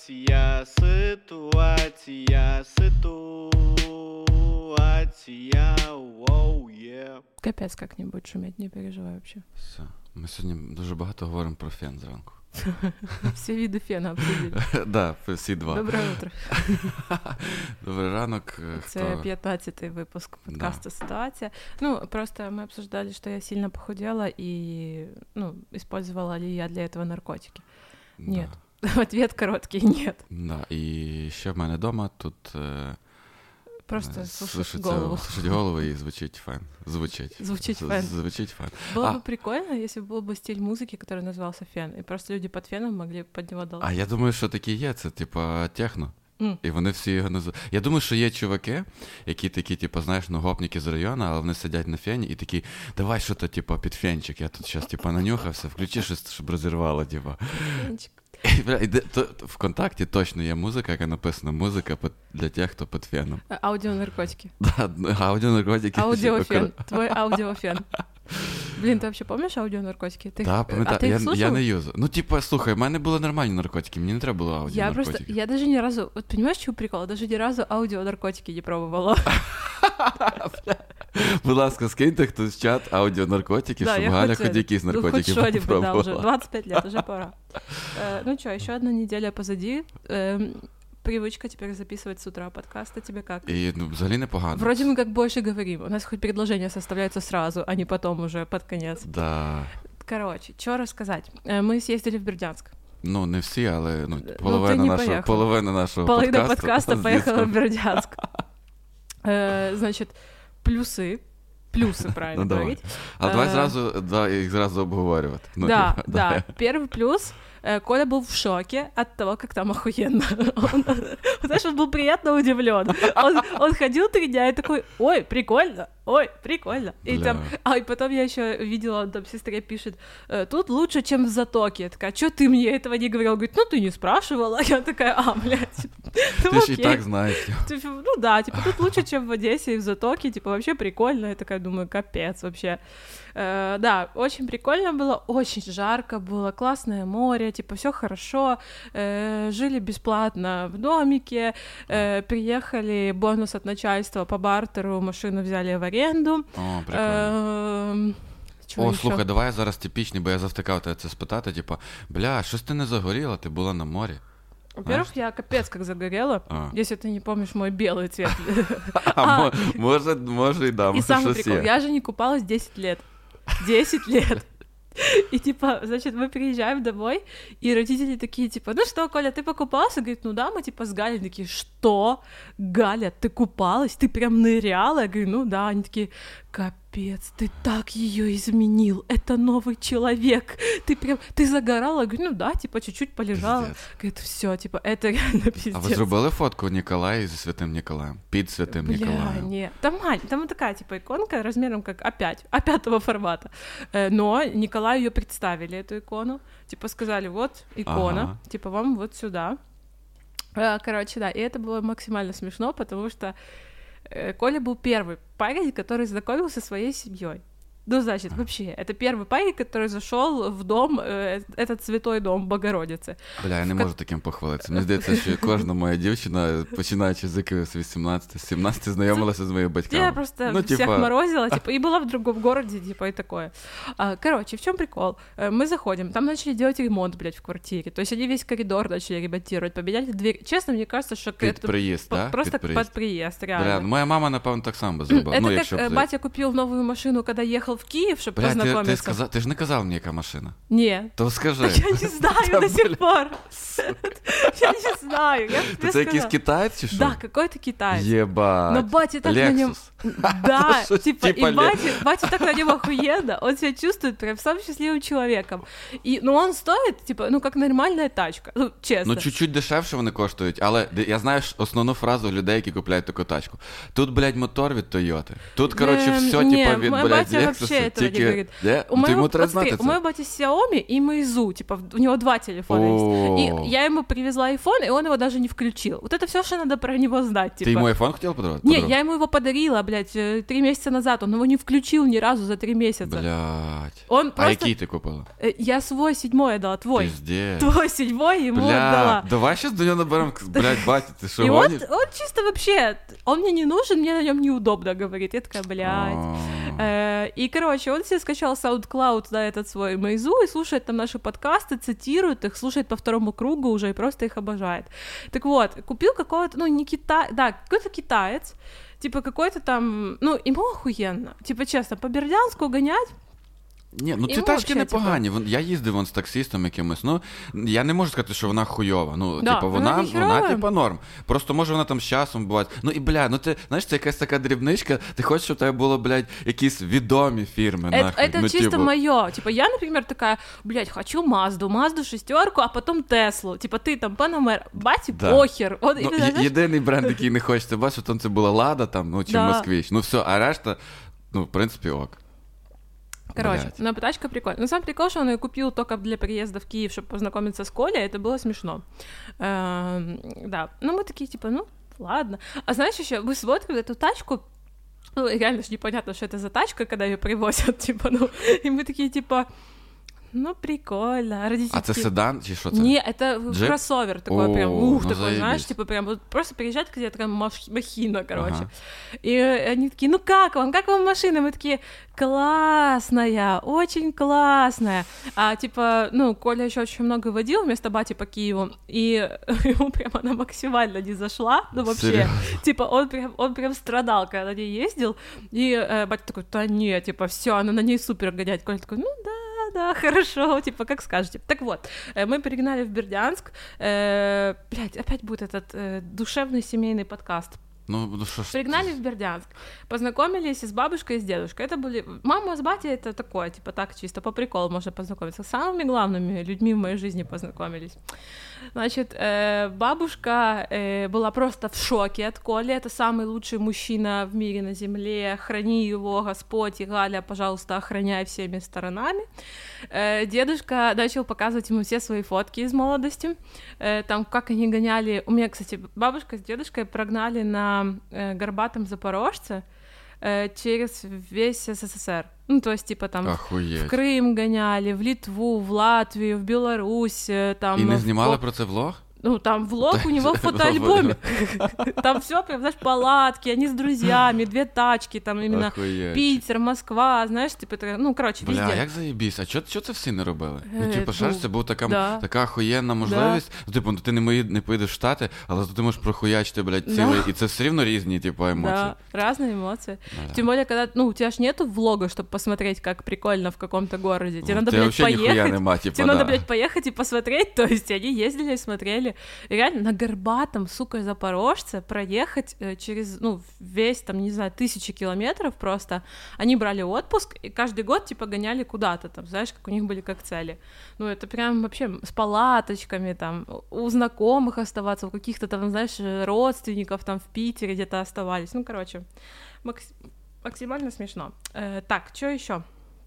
Воу, yeah. Капець, как не будет шуметь, не переживай вообще. Все. Ми сьогодні дуже багато говоримо про фен зранку. Всі види фена обсудили. Да, всі два. Доброе утро. Добрий ранок. Це 15-й випуск подкасту «Ситуація». Ну, просто мы обсуждали, что я сильно похудела и, использовала ли я для этого наркотики. Нет. Да. Ответ короткий — нет. Да, і ще в мене вдома тут просто слушать голову. Слушать голову і звучить фен. Звучить фен. Было бы прикольно, если бы был бы стиль музыки, который назывался фен, и просто люди под феном могли под него долбить. А я думаю, що такі є, це типа техно. І вони всі його називають. Я думаю, що є чуваки, які такі, типу, знаєш, гопніки з району, але вони сидять на фені і такі, давай що-то, типу, під фенчик, я тут зараз, типу, нанюхався, включи щось, щоб розірвало, типу. Фенчик. ВКонтакті точно є музика, яка написана «Музика для тих, хто під феном». Аудионаркотики. Да, аудионаркотики. Аудиофен. Твой аудиофен. Блін, ти взагалі пам'ятаєш аудіонаркотики? Так, пам'ятаю. Я не юзав. Ну, типу, слухай, в мене були нормальні наркотики, мені не треба було аудіонаркотики. Я даже ні разу, от розумієш, чого прикол? Я даже ні разу аудіонаркотики не пробувала. Будь ласка, скиньте хтось в чат аудіонаркотики, щоб Галя хоч якісь наркотики попробувала. Да, уже 25 лет, уже пора. Ну что, еще одна неделя позади. Привычка теперь записывать с утра подкасты. Тебе как? И, взагалі непогано. Вроде мы как больше говорим. У нас хоть предложения составляются сразу, а не потом уже под конец. Да. Короче, что рассказать? Мы съездили в Бердянск. Ну, не всі, але половина нашого подкаста поехала в Бердянск. Значит, плюсы, правильно говорить. А давай їх зразу обговорювати. Да. Первый плюс — Коля был в шоке от того, как там охуенно. Знаешь, он был приятно удивлен. Он ходил 3 дня и такой: ой, прикольно. И потом я еще видела, он там сестре пишет: тут лучше, чем в Затоке. Я такая: чё ты мне этого не говорила? Говорит: ну ты не спрашивала. Я такая: блядь. Ты же и так знаешь. Ну да, типа тут лучше, чем в Одессе и в Затоке. Типа вообще прикольно. Я такая думаю: капец вообще. Да, очень прикольно было, очень жарко было, классное море, типа все хорошо, жили бесплатно в домике, приехали, бонус от начальства по бартеру, машину взяли в аренду. О, прикольно. Слухай, давай я зараз типічний, бо я завтикав тебе це спитати, типа, бля, щось ти не загоріла, ти була на морі. Во-первых, я капец как загорела, если ты не помнишь мой белый цвет. Може, и да, и самый прикол, я же не купалась 10 лет. 10 лет. И типа, значит, мы приезжаем домой, и родители такие, типа: ну что, Коля, ты покупался? Говорит: ну да, мы типа с Галей. Такие: что? Галя, ты купалась? Ты прям ныряла? Я говорю: ну да. Они такие: капец, ты так ее изменил, это новый человек, ты загорала? Я говорю: ну да, типа чуть-чуть полежала. Пиздец. Говорит: все, типа, это реально пиздец. А ви зробили фотку Ніколая зі Святим Ніколаєм? Під Святим Ніколаєм? Не, там такая, типа, иконка размером как А5 формата, но Николаю ее представили, эту икону, типа сказали: вот икона, типа вам вот сюда. Короче, да, и это было максимально смешно, потому что Коля был первый парень, который знакомился со своей семьей. Ну, значит, вообще, это первый парень, который зашел в дом, этот святой дом Богородицы. Бля, я не можу таким похвалитися. Мені здається, що кожна моя дівчина, починаючи з якихось 18-17, знайомилася з моїми батьками. Я просто всех морозила, типа, и была в другом городе, типа, и такое. Короче, в чем прикол? Мы заходим, там начали делать ремонт, блядь, в квартире. То есть они весь коридор начали ремонтировать, поменяли дверь. Честно, мне кажется, что это приезд, да? Просто под приезд, реально. Бля, моя мама, напевно, так само зробила. Это как батя купил новую машину, когда ехал в Киев, чтобы познакомиться. Ти ж не казав мені, яка машина? Ні. То скажи. Я не знаю до сих пор. Я не знаю. Це якийсь китаєць чи що? Да, какой-то китаєць. Єбать. Но батя так на нем... Да, типа, и батя так на нем охуенно. Он себя чувствует прям самым счастливым человеком. Но он стоит, типа, ну, как нормальная тачка. Ну, чесно. Ну, чуть-чуть дешевше вони коштують, але я знаю основну фразу людей, які купляють таку тачку. Тут, блядь, мотор від Тойоти. Тут, короче, все, типа, від, блядь, Lexus. Тільки... У моего бати Xiaomi и Meizu, типа, у него 2 телефона есть. И я ему привезла iPhone, и он его даже не включил. Вот это все, что надо про него знать, типа. Ты ему iPhone хотела подарить? Не, я ему его подарила, блядь. блядь, 3 месяца назад, он его не включил ни разу за 3 месяца. Блядь. Он просто... А який ти купила? Я свой 7-й отдала, твой. Пиздец. Твой 7-й ему отдала. Давай сейчас до него наберем, блядь, батя, ты что, И гонишь? он чисто вообще, он мне не нужен, мне на нем неудобно, говорит. Я такая, блядь. И, короче, он себе скачал SoundCloud, да, этот свой Мейзу, и слушает там наши подкасты, цитирует их, слушает по второму кругу уже и просто их обожает. Так вот, купил какого-то, ну, не китай, да, какой-то китаец, типа какой-то там, ну, ему охуенно. Типа, чесно, по Бердянску гонять. Ні, ну ці Йому тачки вообще, непогані. Я їздив вон з таксистом якимось. Ну, я не можу сказати, що вона хуйова. Ну, Да, типу, вона вона типу, норм. Просто може вона там з часом буває. Ну і, бля, ну ти, знаєш, це якась така дрібничка, ти хочеш, щоб у тебе було, блядь, якісь відомі фірми, нахуй. Это ну, чисто типу... моё. Типа, я, например, такая, блядь, хочу Мазду 6, а потом Теслу. Типа, ты там Панамера, баті, Да. похер. Он, Ну, знаєш, єдиний бренд, який не хочеться бачити, там це була Лада, там, ну, чи Да. Москвич. Ну все, а решта, ну, в принципі, ок. Короче, Блядь. но тачка прикольная. Но сам прикол, что он ее купил только для приезда в Киев, чтобы познакомиться с Колей, это было смешно. Да, ну мы такие, типа, ну, ладно. А знаешь, еще мы смотрим эту тачку, ну, реально же непонятно, что это за тачка, когда ее привозят, типа, ну, и мы такие, типа, ну, прикольно. А родители А це такие, седан, чи що це? Не, это Джип? кроссовер такой, О, прям, ну такой, заебись. знаешь, типа прям вот просто приезжает где-то такая махина, короче. Ага. И они такие, ну как вам машина? Мы такие, классная, очень классная. А типа, ну, Коля еще очень много водил вместо бати по Киеву, и ему прям она максимально не зашла, ну вообще. Серьёзно? Типа он прям страдал, когда на ней ездил, и батя такой, да нет, типа, все, она на ней супер гонять. Коля такой, ну да, хорошо, типа, как скажете. Так вот, мы перегнали в Бердянск. Блядь, опять будет этот душевный семейный подкаст. Ну що ж. Пригнали в Бердянск, познакомились с бабушкой и с дедушкой. Это были... Мама с батей — это такое, типа, так чисто по приколу можно познакомиться. С самыми главными людьми в моей жизни познакомились. Значит, бабушка была просто в шоке от Коли. Это самый лучший мужчина в мире на земле. Храни его, Господь, и Галя, пожалуйста, охраняй всеми сторонами. Дедушка начал показывать ему все свои фотки из молодости. Там, как они гоняли... У меня, кстати, бабушка с дедушкой прогнали на горбатом Запорожце через весь СССР. Ну, то есть, типа, там Охуєть. в Крым гоняли, в Литву, в Латвию, в Беларусь. Там, І не знімали про це влог? Ну, там влог у него в фотоальбоме. Там все прям, знаешь, палатки, они с друзьями, 2 тачки, там именно Охуєть. Питер, Москва, знаешь, типа, ну, короче, Бля, везде. як заєбісь, а чого це всі не робили? Ну, Ну, типу, шариш, це була да. така охуєнна можливість. Ну, типу, ти не поїдеш в Штати, але ти можеш прохуячити, блядь, Да. цілий, і це все рівно різні, типу, емоції. Да, разные эмоции. Да. Тем более, когда, ну, у тебя ж нету влога, чтобы посмотреть, как прикольно в каком-то городе. Тебе надо, Тебе блядь, вообще ніхуя поехать. нема, типу, Тебе да. надо, блядь, поехать и посмотреть. То есть они ездили и смотрели. И реально на горбатом, сука, Запорожце проехать через, ну, весь, там, не знаю, 1000 километров просто. Они брали отпуск и каждый год, типа, гоняли куда-то там, знаешь, как у них были как цели. Ну, это прям вообще с палаточками, там, у знакомых оставаться, у каких-то там, знаешь, родственников там в Питере где-то оставались. Ну, короче, максимально смешно. Так, что еще?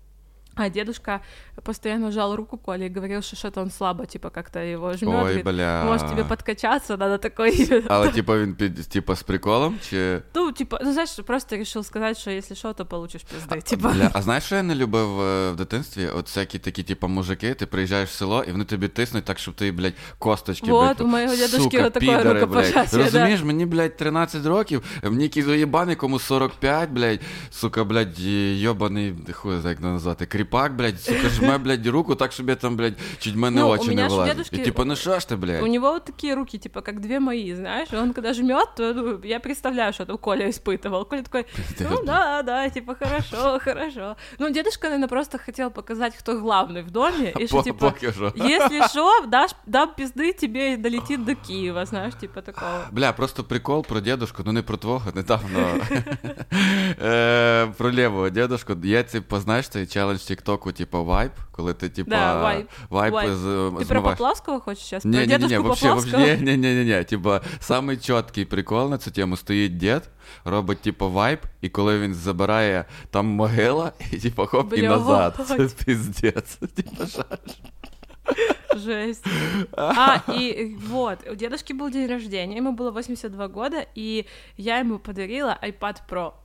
А дедушка постоянно жал руку Коле и говорил, что что-то он слабо, типа, как-то его жмёт. Ой, говорит, бля. может, тебе подкачаться, надо такой... Але, типу, він типу, з приколом, чи... Ну, типа, ну, знаешь, просто решил сказать, что если что, то получишь пизды, типа. Бля, а знаєш, що я не любив в дитинстві? От всякі такі, типу, мужики, ти приїжджаєш в село, і вони тобі тиснуть так, щоб ти, блядь, косточки, Вот, блядь, у моего дедушки сука, вот такое підари, рукопожатие, блядь. да. Розумієш, мені, блядь, 13 років, мені якийсь уєбаний, кому 45, блядь, сука, блядь, йобаний, хуй, як назвати, кріпак, блядь, сука, жме, блядь, руку так, щоб я там, блядь, чуть в мене Ну, у очі меня не ж вилазять. дедушки- І типу, ну що ж ти, блядь? У него вот такие руки, типа, как 2 мои, знаешь, он когда жмет, то ну, я представляю, что там Коля испытывал. Коля такой, ну да, типа, хорошо. Ну, дедушка, наверное, просто хотел показать, кто главный в доме, и что, типа, Поки що. если что, дам пизды, тебе долетит до Киева, знаешь, типа такого. Бля, просто прикол про дедушку, ну не про твого, недавно. Про лівого дедушку. Є, типу, знаєш, цей челендж тіктоку, типу, вайп, коли ти, типу, Да, вайп. Ты про змиваєш. Поплавского хочешь сейчас? Про Не, дедушку Поплавского? не. Типа, самий чіткий прикол на цю тему стоїть дід, робить, типу, вайп, і коли він забирає там могила, і, типу, хоп, і Блядь. назад. Це піздець. Типу, шариш. Жесть. И вот, у дедушки был день рождения, ему было 82 года, и я ему подарила iPad Pro.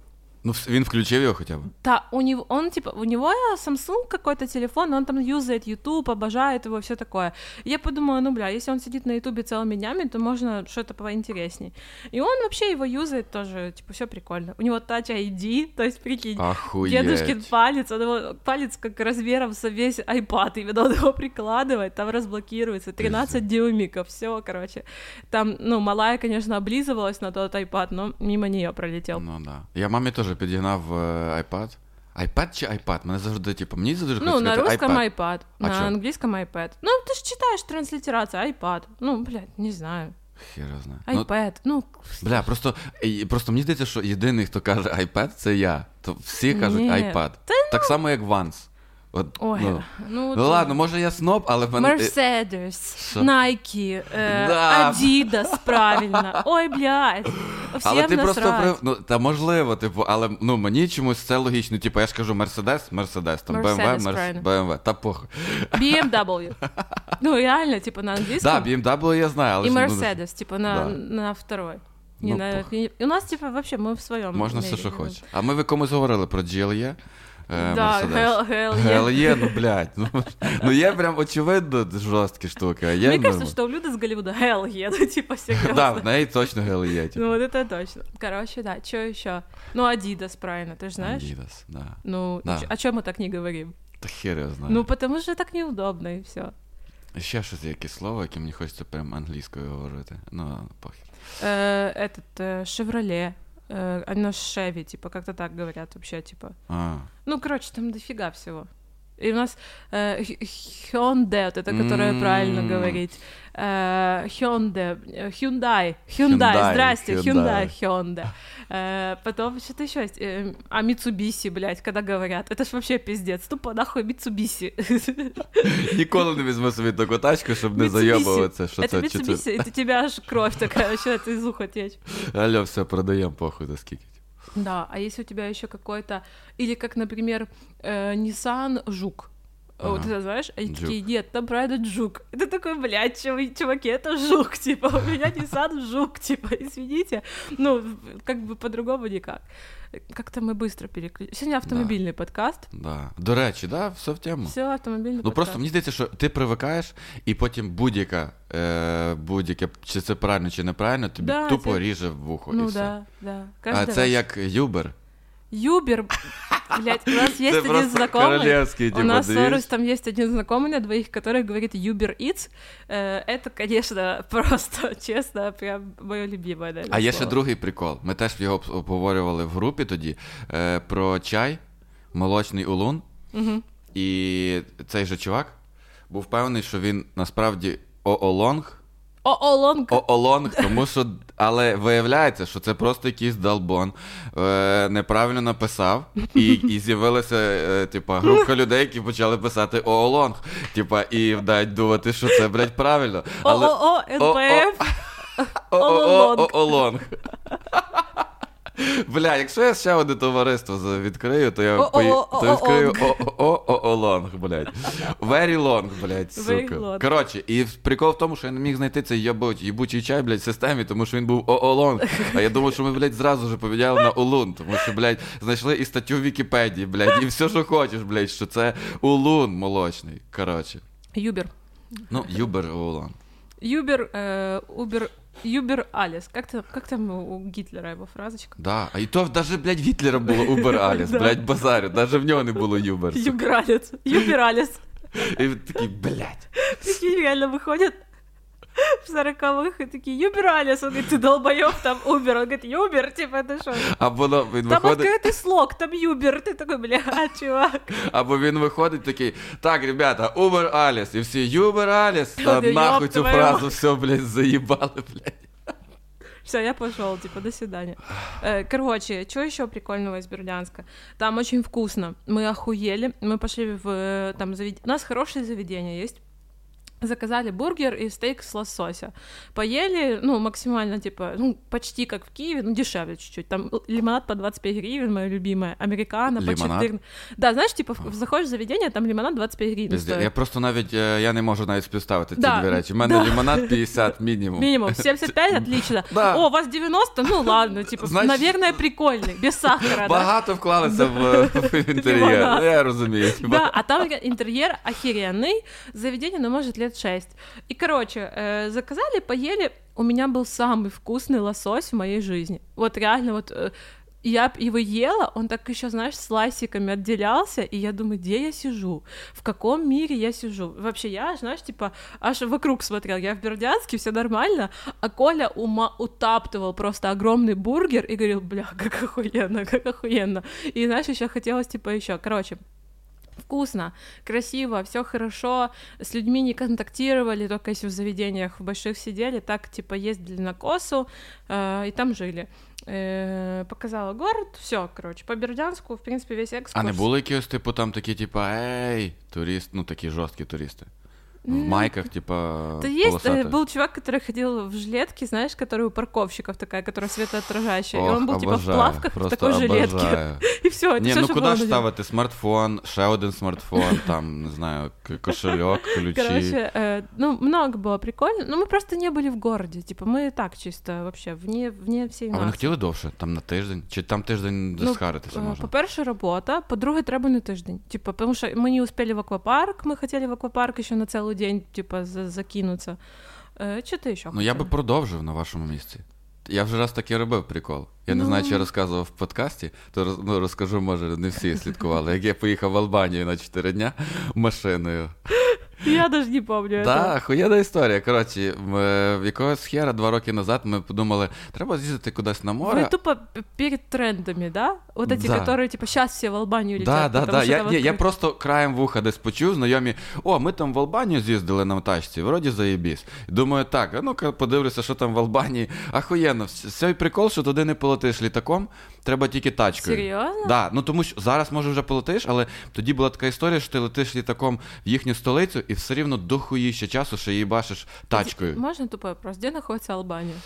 Ну, він включив його хоча б? Да, у него Samsung какой-то телефон, он там юзает YouTube, обожает его, все такое. И я подумала, ну, бля, если он сидит на YouTube целыми днями, то можно что-то поинтересней. И он вообще его юзает тоже, типа, все прикольно. У него Touch ID, то есть, прикинь, Охуеть. дедушкин палец, он его, палец как размером со весь iPad, именно он его прикладывает, там разблокируется, 13 дюймиков, все, короче. Там, ну, малая, конечно, облизывалась на тот iPad, но мимо нее пролетел. Ну, да. Я мамі теж підігнав iPad. iPad чи iPad? Мене завжди, типу, мені завжди Ну, хочеться на сказати русском iPad. iPad, А на чё? английском iPad. Ну, ты же читаешь транслитерация, iPad. Ну, блядь, не знаю. Хіра знає. iPad, ну... Бля, просто мені здається, що єдиний, хто каже iPad, це я. То всі кажуть Ні. iPad. Так само, як Vans. От, Ой, ну ладно, може я сноб, але в мене... Mercedes, Що? Nike, Да. Adidas, правильно. Ой, блядь, всем Але ти насрать. просто ну, та можливо, типу, але ну мені чомусь це логічно. Типу, я ж кажу Mercedes, там Mercedes, правильно. BMW, та похуй. BMW. Ну, реально, типа, на английском. Да, BMW я знаю, але И ж, ну, Mercedes, типа, на второй. Не Ну, на... У нас, типа, вообще, мы в своем. можна все, що хочеш. А ми в комусь говорили про GLE. Да, Mercedes. hell yeah. GLE, ну, блядь. Ну, є прям очевидно жорсткі штуки, а є Мне кажется, нормально. что у Люды с Голливуда hell yeah, ну, типа, серьезно. Да, в неї точно GLE. Типу. Ну, вот это точно. Короче, да, что еще? Ну, Adidas, правильно, ты же знаешь? Adidas, да. Ну, Да. о чем мы так не говорим? Та хер я знаю. Ну, потому что так неудобно, и все. Ще щось якесь слово, яке мені хочеться прям англійською говорити. Ну, похер. Chevrolet. Оно Chevy, типа, как-то так говорят вообще, типа. А. Ну, короче, там дофига всего. И у нас Hyundai, вот это, которое правильно говорить. Hyundai, здрасте, Hyundai. Потом что-то еще есть. А Mitsubishi, блядь, когда говорят. Это ж вообще пиздец. Тупо нахуй Mitsubishi. Ніколи не візьму собі таку тачку, щоб не Mitsubishi. зайобуватися, що Это це Mitsubishi, это у тебя аж кровь такая, что это из уха течь. Алло, все, продаємо похуй за скільки. Да, а если у тебя еще какой-то... Или как, например, Nissan Жук. Вот ты знаешь, они Juke. такие, нет, там правильно Жук. Это такой, блядь, чуваки, это Жук, типа, у меня Nissan Жук, типа, извините. Ну, как бы по-другому никак. Как-то мы быстро переключились. Сегодня автомобильный подкаст. Да. До речі, да, все в тему. Все, автомобильный Ну подкаст. просто мені здається, що ти привикаєш, і потім будь-яке, чи це правильно, чи неправильно, тобі Да, тупо це- ріже в вухо і Ну все. да, да. А Каждый це раз. як Uber. Юбер, блядь, у нас есть Це один просто знакомый. королевський, У типа, нас дивись. Сорос, там есть один знакомый на двоих, который говорит Uber Eats. Это, конечно, просто, честно, прям мое любимое, наверное, А є ще слово. другий прикол. Ми теж його обговорювали в групі тоді, про чай, молочний улун. Угу. І цей же чувак був впевнений, що він насправді оолонг, Лонг. тому що, але виявляється, що це просто якийсь долбон, неправильно написав, і з'явилася, типа, група людей, які почали писати оолонг, типа, і дають думати, що це, блядь, правильно. НПФ. Оолонг. Бля, якщо я ще одне товариство відкрию, то я відкрию оолонг, блядь. Very long, блядь, сука. Коротше, і прикол в тому, що я не міг знайти цей єбучий чай, блядь, в системі, тому що він був оолонг. А я думав, що ми, блядь, зразу ж поміняли на улун, тому що, блядь, знайшли і статтю в Вікіпедії, блядь, і все, що хочеш, блядь, що це молочний. Коротше. Юбер. Ну, Юбер оолонг. Юбер Алис. Как там у Гитлера его фразочка? Да, а і то даже, блядь, Гітлера було Убер Аліс, блядь, базарю, даже в нього не було Юбер. Юбер Алис. І такий, блядь. Такие реально выходят в 40-х и такие, Юбер Алис. Он говорит, ты долбоёб, там Убер. Он говорит, Юбер, типа, это что? Або він Там виходить, открытый слог, там Юбер. Ты такой, бля, чувак. або він виходить такий, так, ребята, Убер Аліс, і всі Юбер Аліс, та Ти нахуй ёб цю твою фразу, мать. все, блядь, заїбали, блядь. Все, я пошел, типа, до свидания. Короче, что еще прикольного из Бердянска? Там очень вкусно. Мы охуели. Мы пошли в там заведение. У нас хорошие заведения есть. Заказали бургер и стейк с лосося. Поели, ну, максимально, типа, ну, почти как в Киеве, ну, дешевле чуть-чуть. Там лимонад по 25 гривен, моя любимая, американо по 14. Да, знаешь, типа, заходишь в заведение, там лимонад 25 гривен стоит. Я просто навіть, я не можу навіть співставити ці дві речі. У мене лимонад 50 мінімум. Минимум, 75, отлично. О, у вас 90, ну, ладно, типа, наверное, прикольный, без сахара, багато вклалися в інтер'єр, я розумію. Да, а там интерьер охеренный, заведение, ну, может, лет 6. И, короче, заказали, поели. У меня был самый вкусный лосось в моей жизни. Вот реально, вот я его ела, он так еще, знаешь, слайсиками отделялся, и я думаю, где я сижу? В каком мире я сижу? Вообще, я, знаешь, типа, аж вокруг смотрел. Я в Бердянске, все нормально, а Коля утаптывал просто огромный бургер и говорил, бля, как охуенно, как охуенно. И, знаешь, еще хотелось, типа, еще. Короче, вкусно, красиво, все хорошо, с людьми не контактировали, только если в заведениях в больших сидели, так, типа, ездили на Косу, и там жили. Показала город, все, короче, по Бердянску, в принципе, весь экскурс. А не були якісь, типу, там такі, типа, ей, турист, ну, такі жорсткі туристи? В майках, типа, да есть, был чувак, который ходил в жилетке, знаешь, который у парковщиков такая, которая светоотражающая, и он был, типа, в плавках в такой жилетке. И все, ні, ну куди ж ставити смартфон, ще один смартфон, там, не знаю, кошельок, ключі. Короче, ну, много было прикольно, но мы просто не были в городе, типа, мы так чисто, вообще, вне всей нас. А ви не хотіли довше? Там на тиждень? Чи там тиждень засхаритися можна? По-перше, робота, по-друге, треба на тиждень, типа, потому что мы не успели в аквапарк, мы хотели в аквапарк еще на целый день, типа, закинуться. Що ти ще хотів? Ну, я би продовжив на вашому місці. Я вже раз таки робив прикол. Я не знаю, чи я розказував в подкасті, то розкажу, може, не всі слідкували. Як я поїхав в Албанію на 4 дня машиною. Я даже не помню. Так, хуєна історія. Коротше, якогось хера 2 роки назад ми подумали, треба з'їздити кудись на море. Ви тупо перед трендами, да? Вот эти, которые, типа, сейчас все в Албанию летят. Да. Я просто краєм вуха десь почув, знайомі, ми там в Албанію з'їздили на тачці, вроді заєбісь. Думаю, так, ну-ка подивлюся, що там в Албанії. Ахуєнно, цей прикол, що туди не полетиш літаком, треба тільки тачкою. Серйозно? Да, ну тому що зараз, може, вже полетиш, але тоді була така історія, що ти летиш літаком в їхню столицю і все рівно дохуїще часу, що її бачиш тачкою. Можна тупий вопрос? Де знаходиться Албанія?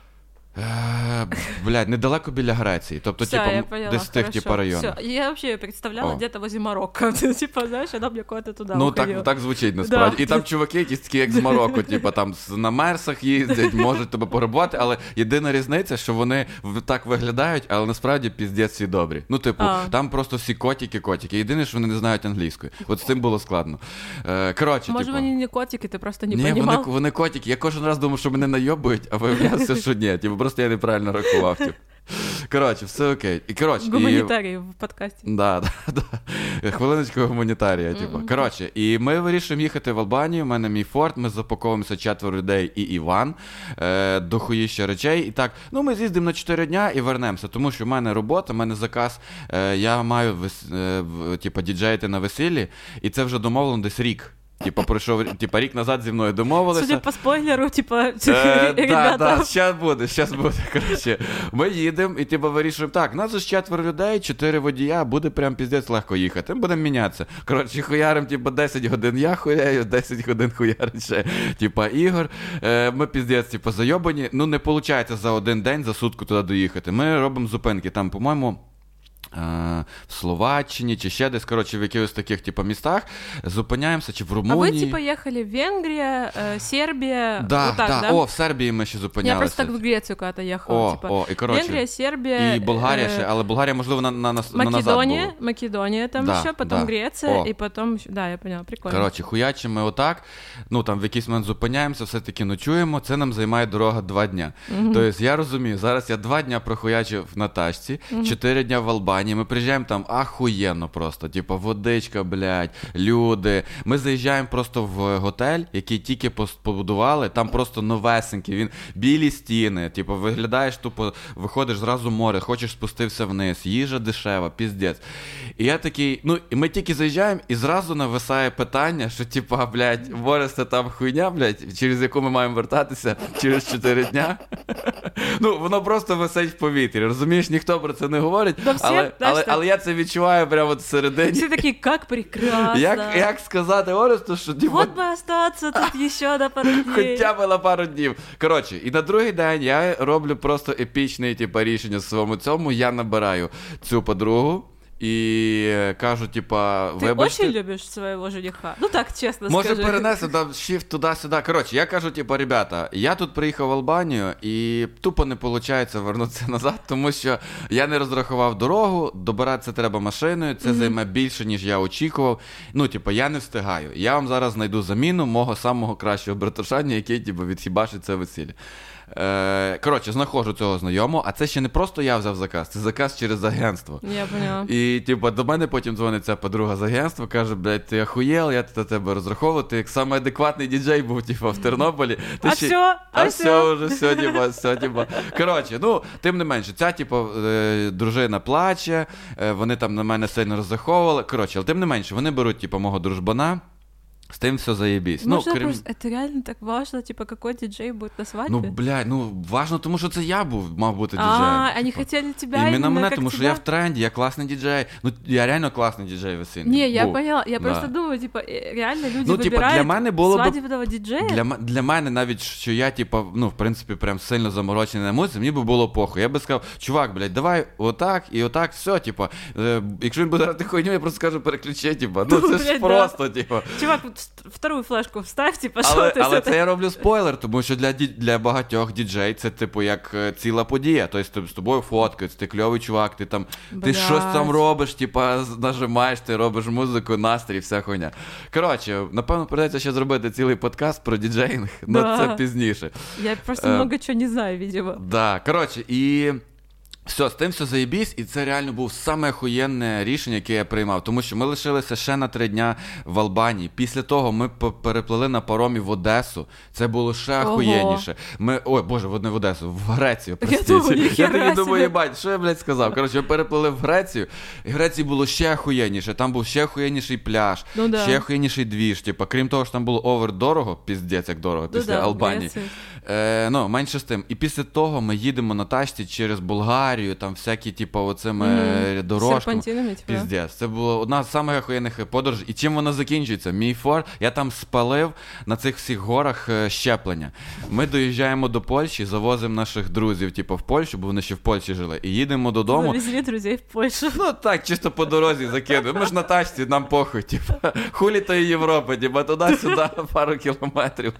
Блядь, недалеко біля Греції. Тобто, типу, десь з тих, типу, районів. Я вообще представляла где-то возле Марокко. Типа, знаєш, вона б куда-то туди уходила. Ну, так звучить, насправді. Да. І там чуваки якісь такі, як з Марокко, типу, там на мерсах їздять, можуть тебе порабувати, але єдина різниця, що вони так виглядають, але насправді піздець всі добрі. Ну, типу, там просто всі котики. Єдине, що вони не знають англійської. От з цим було складно. Коротше, може, типу... вони не котики, ти просто не понімав? Ні, вони котики. Я кожен раз думав, що мене найобують, а виявляється, що ні. Типу, просто я неправильно рахував. Типу. Коротше, все окей. Гуманітарій в подкасті. Да. Хвилиночку гуманітарія, типу. Коротше, і ми вирішуємо їхати в Албанію, у мене мій Форд, ми запаковуємося 4 людей і Іван, дохуїща речей. І так, ну ми з'їздимо на 4 дня і вернемося, тому що в мене робота, в мене заказ, я маю, типу, діджеїти на весіллі, і це вже домовлено десь рік. Типа, пройшов, рік назад зі мною домовилися. Судя по спойлеру, ребята. Да, щас буде. Коротше, ми їдемо і, типу, вирішуємо, так, нас ж 4 людей, 4 водія, буде прям піздець легко їхати, ми будемо мінятися. Коротше, хуярим, типу, 10 годин я хуяю, 10 годин хуярить ще, типу, Ігор. Ми піздець, типу, зайобані, ну, не виходить за один день, за сутку туди доїхати. Ми робимо зупинки, там, по-моєму, в Словаччині, чи ще десь, коротше, в якихось таких, типу, містах, зупиняємося, чи в Румунії. А ви, типу, їхали в Венгрію, Сербія, да? В Сербії ми ще зупинялися. Я просто так в Грецію коли-то їхала, і, коротше, Венгрія, Сербія. І Болгарія ще, але Болгарія, можливо, назад була. Македонія там ще, потім Греція, і потім, да, я поняла, прикольно. Коротше, хуячимо ми отак, ну, там, в якийсь момент зупиняємося, все-таки ночуємо, це нам займає дорога 2 дня. Тобто, я розумію, зараз я 2 дня прохуячив на тачці, 4 дня в Албанії, ми приїжджаємо там ахуєнно просто, типу, водичка, блядь, люди. Ми заїжджаємо просто в готель, який тільки побудували, там просто новесенький, він білі стіни, типу, виглядаєш тупо, виходиш зразу в море, хочеш спустився вниз, їжа дешева, піздець. І я такий, ну, і ми тільки заїжджаємо, і зразу нависає питання, що, типу, блядь, море це там хуйня, блядь, через яку ми маємо вертатися через 4 дня. Ну, воно просто висить в повітрі, розумієш, ніхто про це не говорить, але... але я це відчуваю прямо всередині. Всі такі, як прекрасно. Як сказати Оресту, що Вот би остаться тут ще на пару днів. Хоча б на пару днів. Коротше, і на другий день я роблю просто епічне рішення в своєму цьому. Я набираю цю подругу. І кажу, типа, вибачте. Ти дуже любиш свого жениха? Ну так, чесно може, скажи. Може перенести там shift туди-сюди. Коротше, я кажу, типа, ребята, я тут приїхав в Албанію і тупо не виходить вернутися назад, тому що я не розрахував дорогу, добиратися треба машиною, це займе більше, ніж я очікував. Ну, типа, я не встигаю. Я вам зараз знайду заміну мого самого кращого братушання, який, типа, відхібашить це весілля. Коротше, знаходжу цього знайомого, а це ще не просто я взяв заказ, це заказ через агентство. Я поняла. І, типу, до мене потім дзвонить ця подруга з агентства, каже, блядь, ти охуєл, я до тебе розраховував, ти як самий адекватний діджей був, типу, в Тернополі. А все вже, все, типу. Коротше, ну, тим не менше, ця, типу, дружина плаче, вони там на мене сильно розраховували. Коротше, але тим не менше, вони беруть, типу, мого дружбана. С тем все заебись. Можно просто, это реально так важно, типа, какой диджей будет на свадьбе? Ну, блядь, важно, тому що це я мав бути діджеєм. Они хотели тебя именно мене, как тому що я в тренді, я класний діджей. Ну, я реально класний діджей весільний. Не, я поняла, я просто думаю, типа, реально люди вибирають для мене було свадебного діджея? Для мене навіть, що я, типа, ну, в принципі, прям сильно заморочений на музиці, мені би було похуй. Я би сказав, чувак, блядь, давай отак і отак, все, типа, якщо він буде грати хуйню, я просто скажу, переключи, типа, ну, це ж просто, типа. Чувак, вторую флешку вставь, типа, що ти? Але це я роблю спойлер, тому що для багатьох діджей це, типу, як ціла подія. Тобто з тобою фоткаються, ти кльовий чувак, ти там, ти щось там робиш, типа, нажимаєш, ти робиш музику, настрій, вся хуйня. Коротше, напевно, придеться ще зробити цілий подкаст про діджейнг, але це пізніше. Я просто много чого не знаю, видимо. Да, коротше, і... Все, з тим все заєбісь, і це реально був саме охуєнне рішення, яке я приймав. Тому що ми лишилися ще на 3 дня в Албанії. Після того ми переплили на паромі в Одесу. Це було ще охуєнніше. Ой, боже, не в Одесу, в Грецію, простіть. Я тоді думаю, єбать, що я, блядь, сказав? Коротше, ми переплили в Грецію, і в Греції було ще охуєнніше. Там був ще охуєнніший пляж, ще охуєнніший двіж. Типа, крім того, що там було овер-дорого, піздець як дорого, після Албанії. Ну, менше з тим. І після того ми їдемо на тачці через Болгарію, там всякі, типу, оцими дорожками. Піздець. Це була одна з самих охуєнних подорожей. І чим вона закінчується? Мій Форд, я там спалив на цих всіх горах щеплення. Ми доїжджаємо до Польщі, завозимо наших друзів, типу, в Польщу, бо вони ще в Польщі жили, і їдемо додому. Завезли друзей в Польщу. Ну, так, чисто по дорозі закидуємо. Ми ж на тачці, нам похуй, типу. Хулі то Європи, типу, туди-сюди пару кілометрів.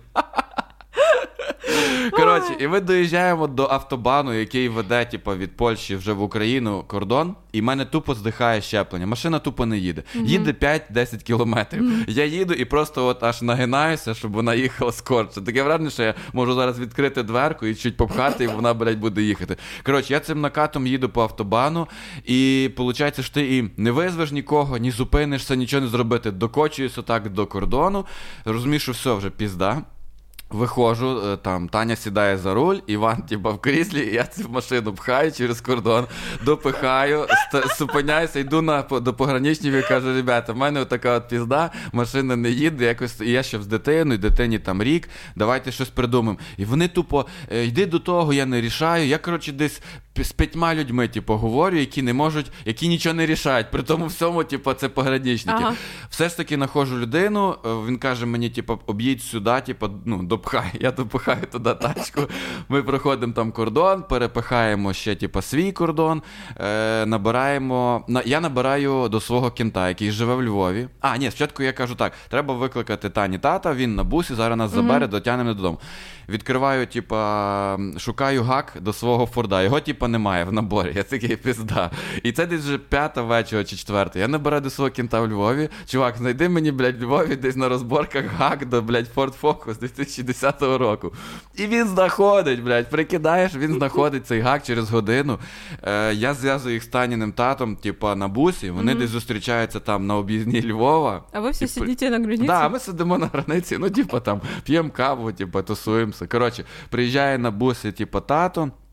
Коротше, і ми доїжджаємо до автобану, який веде, типу, від Польщі вже в Україну кордон, і в мене тупо здихає щеплення. Машина тупо не їде. Їде 5-10 кілометрів. Я їду і просто от аж нагинаюся, щоб вона їхала скорше. Таке враження, що я можу зараз відкрити дверку і чуть попхати, і вона, блядь, буде їхати. Коротше, я цим накатом їду по автобану, і виходить, що ти і не визвеш нікого, ні зупинишся, нічого не зробити. Докочуюся так до кордону, розумію, що все, вже пізда. Виходжу, там Таня сідає за руль, Іван, типа, в кріслі, і я цю машину пхаю через кордон, допихаю, зупиняюся, йду до пограничників і кажу, ребята, в мене отака от пізда, машина не їде, якось, і я ще з дитиною, дитині там рік, давайте щось придумаємо. І вони тупо, йди до того, я не рішаю, я, коротше, десь з 5 людьми, типу, говорю, які не можуть, які нічого не рішають, при тому всьому, типу, це пограничники. Ага. Все ж таки знаходжу людину, він каже мені, типу, об'їдь сюди, типу, ну, допхай, я допихаю туди тачку, ми проходимо там кордон, перепихаємо ще, типу, свій кордон, набираємо, я набираю до свого кента, який живе в Львові. Ні, спочатку я кажу так, треба викликати Тані тата, він на бусі, зараз нас забере, дотягнемо додому. Відкриваю, типа, шукаю гак до свого Форда. Його, типа, немає в наборі. Я такий, пізда. І це десь вже 5-та вечора чи 4-та. Я набираю до свого кента в Львові. Чувак, знайди мені, блядь, в Львові десь на розборках гак до, блядь, Ford Focus 2010 року. І він знаходить, блядь, прикидаєш, він знаходить цей гак через годину. Я зв'язую їх з Таніним татом, типа, на бусі. Вони десь зустрічаються там на об'їзній Львова. А ви всі сидите на границі? Да, ми сидимо на границі. Ну, типа, там, п'ємо каву, типа, тусуємося. Коротше, приїжджає на бусі, типа, тато.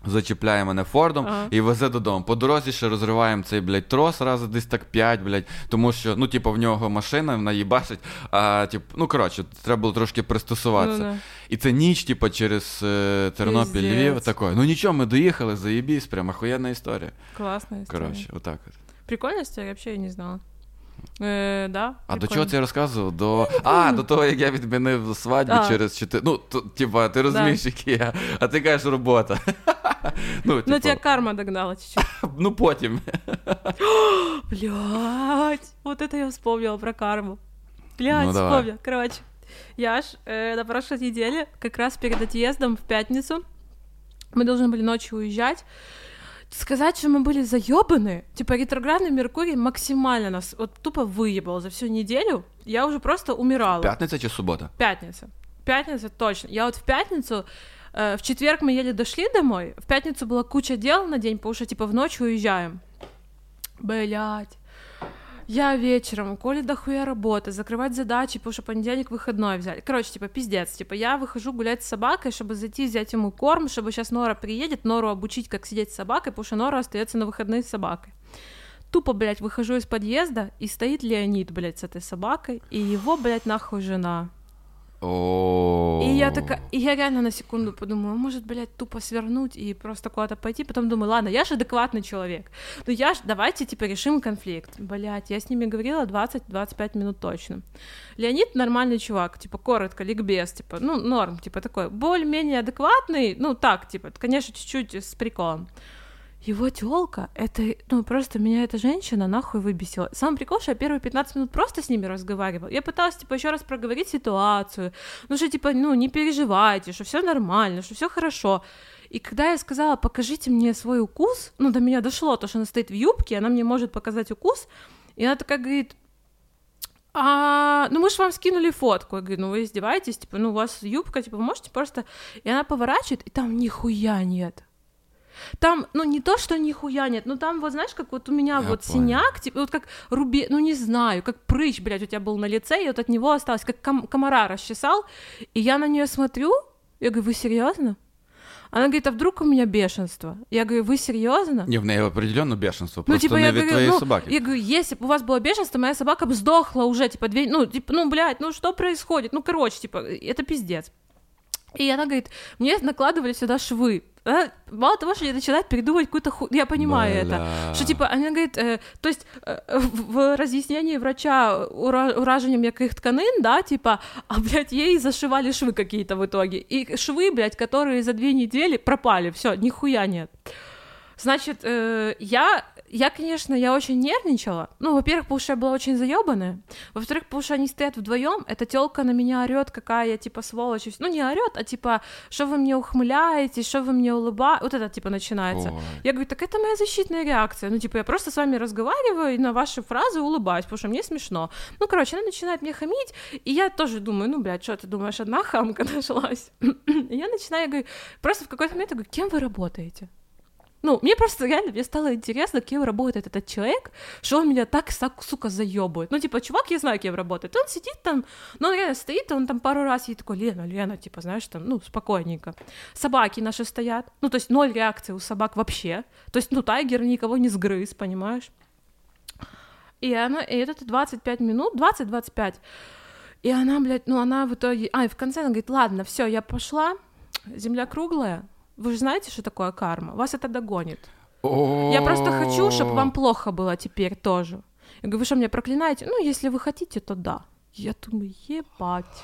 зачіпляє мене Фордом і везе додому. По дорозі ще розриваємо цей, блядь, трос рази десь так 5, блядь, тому що, ну, типу, в нього машина, вона її бачить, а, типу, ну, коротше, треба було трошки пристосуватися. І це ніч, типу, через Тернопіль, Львів, такой. Ну, нічого, ми доїхали, заєбісь, прям охуєнна історія. Класна історія. Коротше, отак от. Прикольна історія, я взагалі не знала. Да, а до чого це я розказував? До того, як я відмінив свадьбу через 4... Ну, типа, ти розумієш, які я... А ти кажеш, робота. Ну, тебя карма догнала чуть-чуть. Ну, потім. Блядь, вот это я вспомнила про карму. Блядь, вспомнила. Короче, я ж на прошлой неделе, как раз перед отъездом в пятницу, мы должны были ночью уезжать. Сказать, что мы были заёбаны, типа ретроградный Меркурий максимально нас вот тупо выебал за всю неделю, я уже просто умирала. Пятница чи суббота? Пятница, точно. Я вот в пятницу, в четверг мы еле дошли домой, в пятницу была куча дел на день, потому что типа в ночь уезжаем. Блядь. Я вечером, Коле дохуя работы, закрывать задачи, потому что понедельник выходной взяли. Короче, типа, пиздец. Типа, я выхожу гулять с собакой, чтобы зайти взять ему корм, чтобы сейчас Нора приедет, Нору обучить, как сидеть с собакой, потому что Нора остается на выходные с собакой. Тупо, блядь, выхожу из подъезда, и стоит Леонид, блядь, с этой собакой, и его, блядь, нахуй жена. И я реально на секунду подумала, может, блядь, тупо свернуть и просто куда-то пойти, потом думаю, ладно, я же адекватный человек, ну давайте, типа, решим конфликт, блядь, я с ними говорила 20-25 минут точно. Леонид нормальный чувак, типа, коротко, ликбез, типа, ну, норм, типа, такой, более-менее адекватный, ну, так, типа, конечно, чуть-чуть с приколом. Его тёлка, это, ну, просто меня эта женщина нахуй выбесила. Самый прикол, что я первые 15 минут просто с ними разговаривала. Я пыталась, типа, ещё раз проговорить ситуацию, ну, что, типа, ну, не переживайте, что всё нормально, что всё хорошо. И когда я сказала, покажите мне свой укус, ну, до меня дошло то, что она стоит в юбке, она мне может показать укус, и она такая говорит, ну мы же вам скинули фотку. Я говорю, ну вы издеваетесь, типа, ну у вас юбка, типа, вы можете просто... И она поворачивает, и там нихуя нет. Там, ну, не то, что нихуя нет, но там, вот, знаешь, как вот у меня я вот понял. Синяк, типа, вот как ну, не знаю, как прыщ, блядь, у тебя был на лице, и вот от него осталось, как комара расчесал, и я на неё смотрю, я говорю, вы серьёзно? Она говорит, а вдруг у меня бешенство? Я говорю, вы серьёзно? Не, в ней определённо бешенство, ну, просто типа, не від твоей собаки. Я говорю, если бы у вас было бешенство, моя собака бы сдохла уже, типа, ну, блядь, ну, что происходит? Ну, короче, типа, это пиздец. И она говорит, мне накладывали сюда швы. Мало того, что я начинаю передумывать какую-то я понимаю это, что, типа, она говорит, то есть в разъяснении врача уражением м'яких тканин, да, типа, а, блядь, ей зашивали швы какие-то в итоге, и швы, блядь, которые за 2 недели пропали, всё, нихуя нет. Значит, я, конечно, я очень нервничала. Ну, во-первых, потому что я была очень заёбанная. Во-вторых, потому что они стоят вдвоём. Эта тёлка на меня орёт, какая я, типа, сволочь. Ну, не орёт, а, типа, что вы мне ухмыляетесь, что вы мне улыбаетесь. Вот это, типа, начинается. Ой. Я говорю, так это моя защитная реакция. Ну, типа, я просто с вами разговариваю и на ваши фразы улыбаюсь, потому что мне смешно. Ну, короче, она начинает мне хамить, и я тоже думаю, ну, блядь, что ты думаешь, одна хамка нашлась? И я начинаю, говорю, просто в какой-то момент я говорю, кем вы работаете? Ну, мне просто реально, мне стало интересно, кем работает этот человек, что он меня так, сука, заёбывает. Ну, типа, чувак, я знаю, кем работает. Он сидит там, ну, он реально стоит, он там пару раз ей такой, Лена, типа, знаешь, там, ну, спокойненько. Собаки наши стоят, ну, то есть 0 реакции у собак вообще. То есть, ну, тайгер никого не сгрыз, понимаешь? И это 25 минут, 20-25. И она, блядь, ну, она в итоге... и в конце она говорит, ладно, всё, я пошла, земля круглая. Вы же знаете, что такое карма? Вас это догонит. Я просто хочу, чтобы вам плохо было теперь тоже. Я говорю, вы что, меня проклинаете? Ну, если вы хотите, то да. Я думаю, ебать.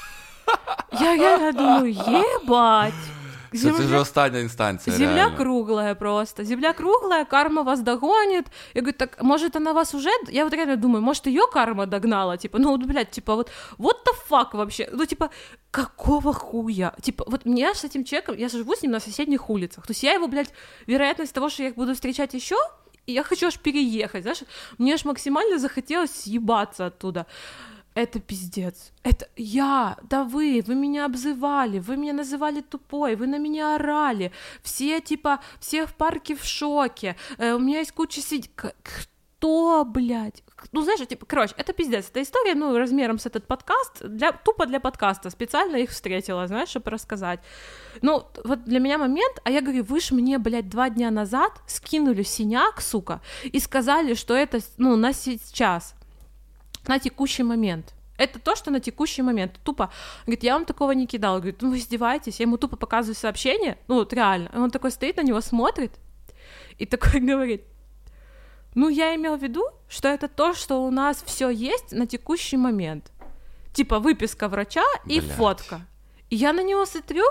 Я реально думаю, ебать. Це вже остання інстанція. Земля реально. Круглая просто. Земля круглая, карма вас догонит. Я говорю, так, может, она вас уже... Я вот реально думаю, может, её карма догнала? Типа, ну, вот, блядь, типа, вот what the fuck вообще? Ну, типа, какого хуя? Типа, вот меня с этим человеком... Я живу с ним на соседних улицах. То есть я его, блядь, вероятность того, что я их буду встречать ещё, и я хочу аж переехать, знаешь? Мне аж максимально захотелось съебаться оттуда. Это пиздец. Это я, да вы меня обзывали, вы меня называли тупой, вы на меня орали, все, типа, все в парке в шоке, у меня есть куча что, блядь? Ну, знаешь, типа, короче, это пиздец. Эта история, ну, размером с этот подкаст, тупо для подкаста. Специально их встретила, знаешь, чтобы рассказать. Ну, вот для меня момент, а я говорю, вы ж мне, блядь, 2 дня назад скинули синяк, сука, и сказали, что это, ну, на сейчас, на текущий момент. Это то, что на текущий момент. Тупо, говорит, я вам такого не кидал. Говорит, ну вы издеваетесь. Я ему тупо показываю сообщение, ну вот реально. И он такой стоит на него, смотрит и такой говорит, ну я имел в виду, что это то, что у нас все есть на текущий момент. Типа выписка врача и фотка. И я на него смотрю,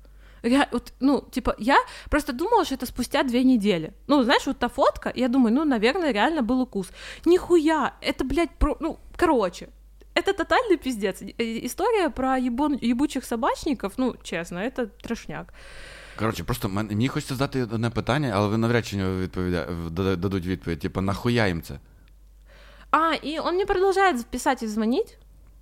ну, типа, я просто думала, что это спустя 2 недели. Ну, знаешь, вот та фотка, я думаю, ну, наверное, реально был укус. Нихуя, это, блядь, ну, короче. Это тотальный пиздец. Історія про єбучих собачників, ну, чесно, це трешняк. Коротше, просто мені хочеться задати одне питання, але ви навряд чи дадуть відповідь. Типа, нахуя їм це? И он мне продолжает писать и звонить.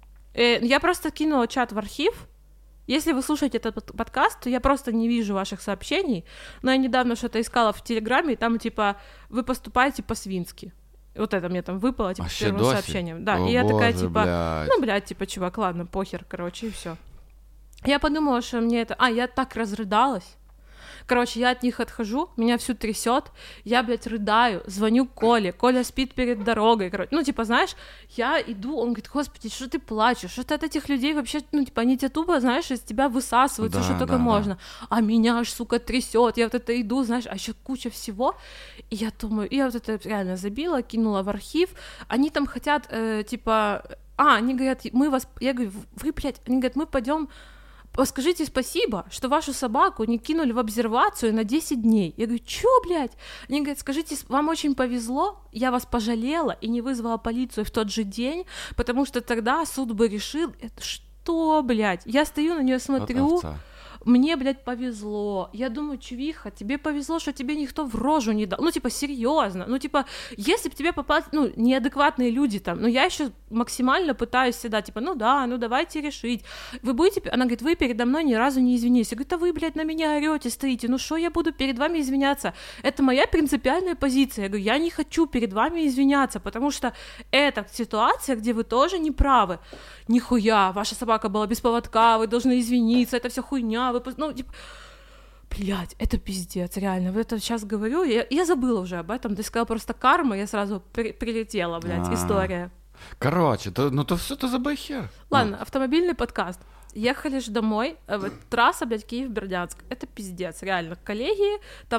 Я просто кинула чат в архив. Если вы слушаете этот подкаст, то я просто не вижу ваших сообщений. Но я недавно что-то искала в Телеграме, и там, типа, вы поступаете по-свински. Вот это мне там выпало, типа, первым сообщением. Да, О, и я такая, боже, типа, блядь. ну, блядь, типа, чувак, ладно, похер, короче, и всё. Я подумала, что мне это... я так разрыдалась. Короче, я от них отхожу, меня всю трясет, я, блядь, рыдаю, звоню Коле, Коля спит перед дорогой, короче. Ну, типа, знаешь, я иду, он говорит, господи, что ты плачешь, что ты от этих людей вообще, ну, типа, они тебя тупо, знаешь, из тебя высасывают, да, что только можно. А меня аж, сука, трясет, я вот это иду, знаешь, а еще куча всего. И я думаю, я вот это реально забила, кинула в архив, они там хотят, типа, они говорят, мы вас, я говорю, вы, блядь, они говорят, мы пойдем. Скажите спасибо, что вашу собаку не кинули в обсервацию на 10 дней. Я говорю, чё, блядь? Они говорят, скажите, вам очень повезло, я вас пожалела и не вызвала полицию в тот же день, потому что тогда суд бы решил, это что, блядь? Я стою на неё смотрю, мне, блядь, повезло. Я думаю, чувиха, тебе повезло, что тебе никто в рожу не дал. Ну, типа, серьезно. Ну, типа, если бы тебе попали, ну, неадекватные люди там, ну, я еще максимально пытаюсь всегда, типа, ну да, ну давайте решить. Вы будете, она говорит, вы передо мной ни разу не извинились. Я говорю, да вы, блядь, на меня орете, стоите, ну что я буду перед вами извиняться? Это моя принципиальная позиция. Я говорю, я не хочу перед вами извиняться, потому что это ситуация, где вы тоже не правы. Нихуя, ваша собака была без поводка, вы должны извиниться, это все хуйня, ну, типа, блядь, это пиздец, реально, вот это сейчас говорю, я забыла уже об этом, ты сказала просто карма, я сразу прилетела, блядь, история. Короче, то все, то забей хер. Ладно, автомобильный подкаст. Ехали ж домой, трасса, блядь, Киев-Бердянск, это пиздец, реально, коллеги,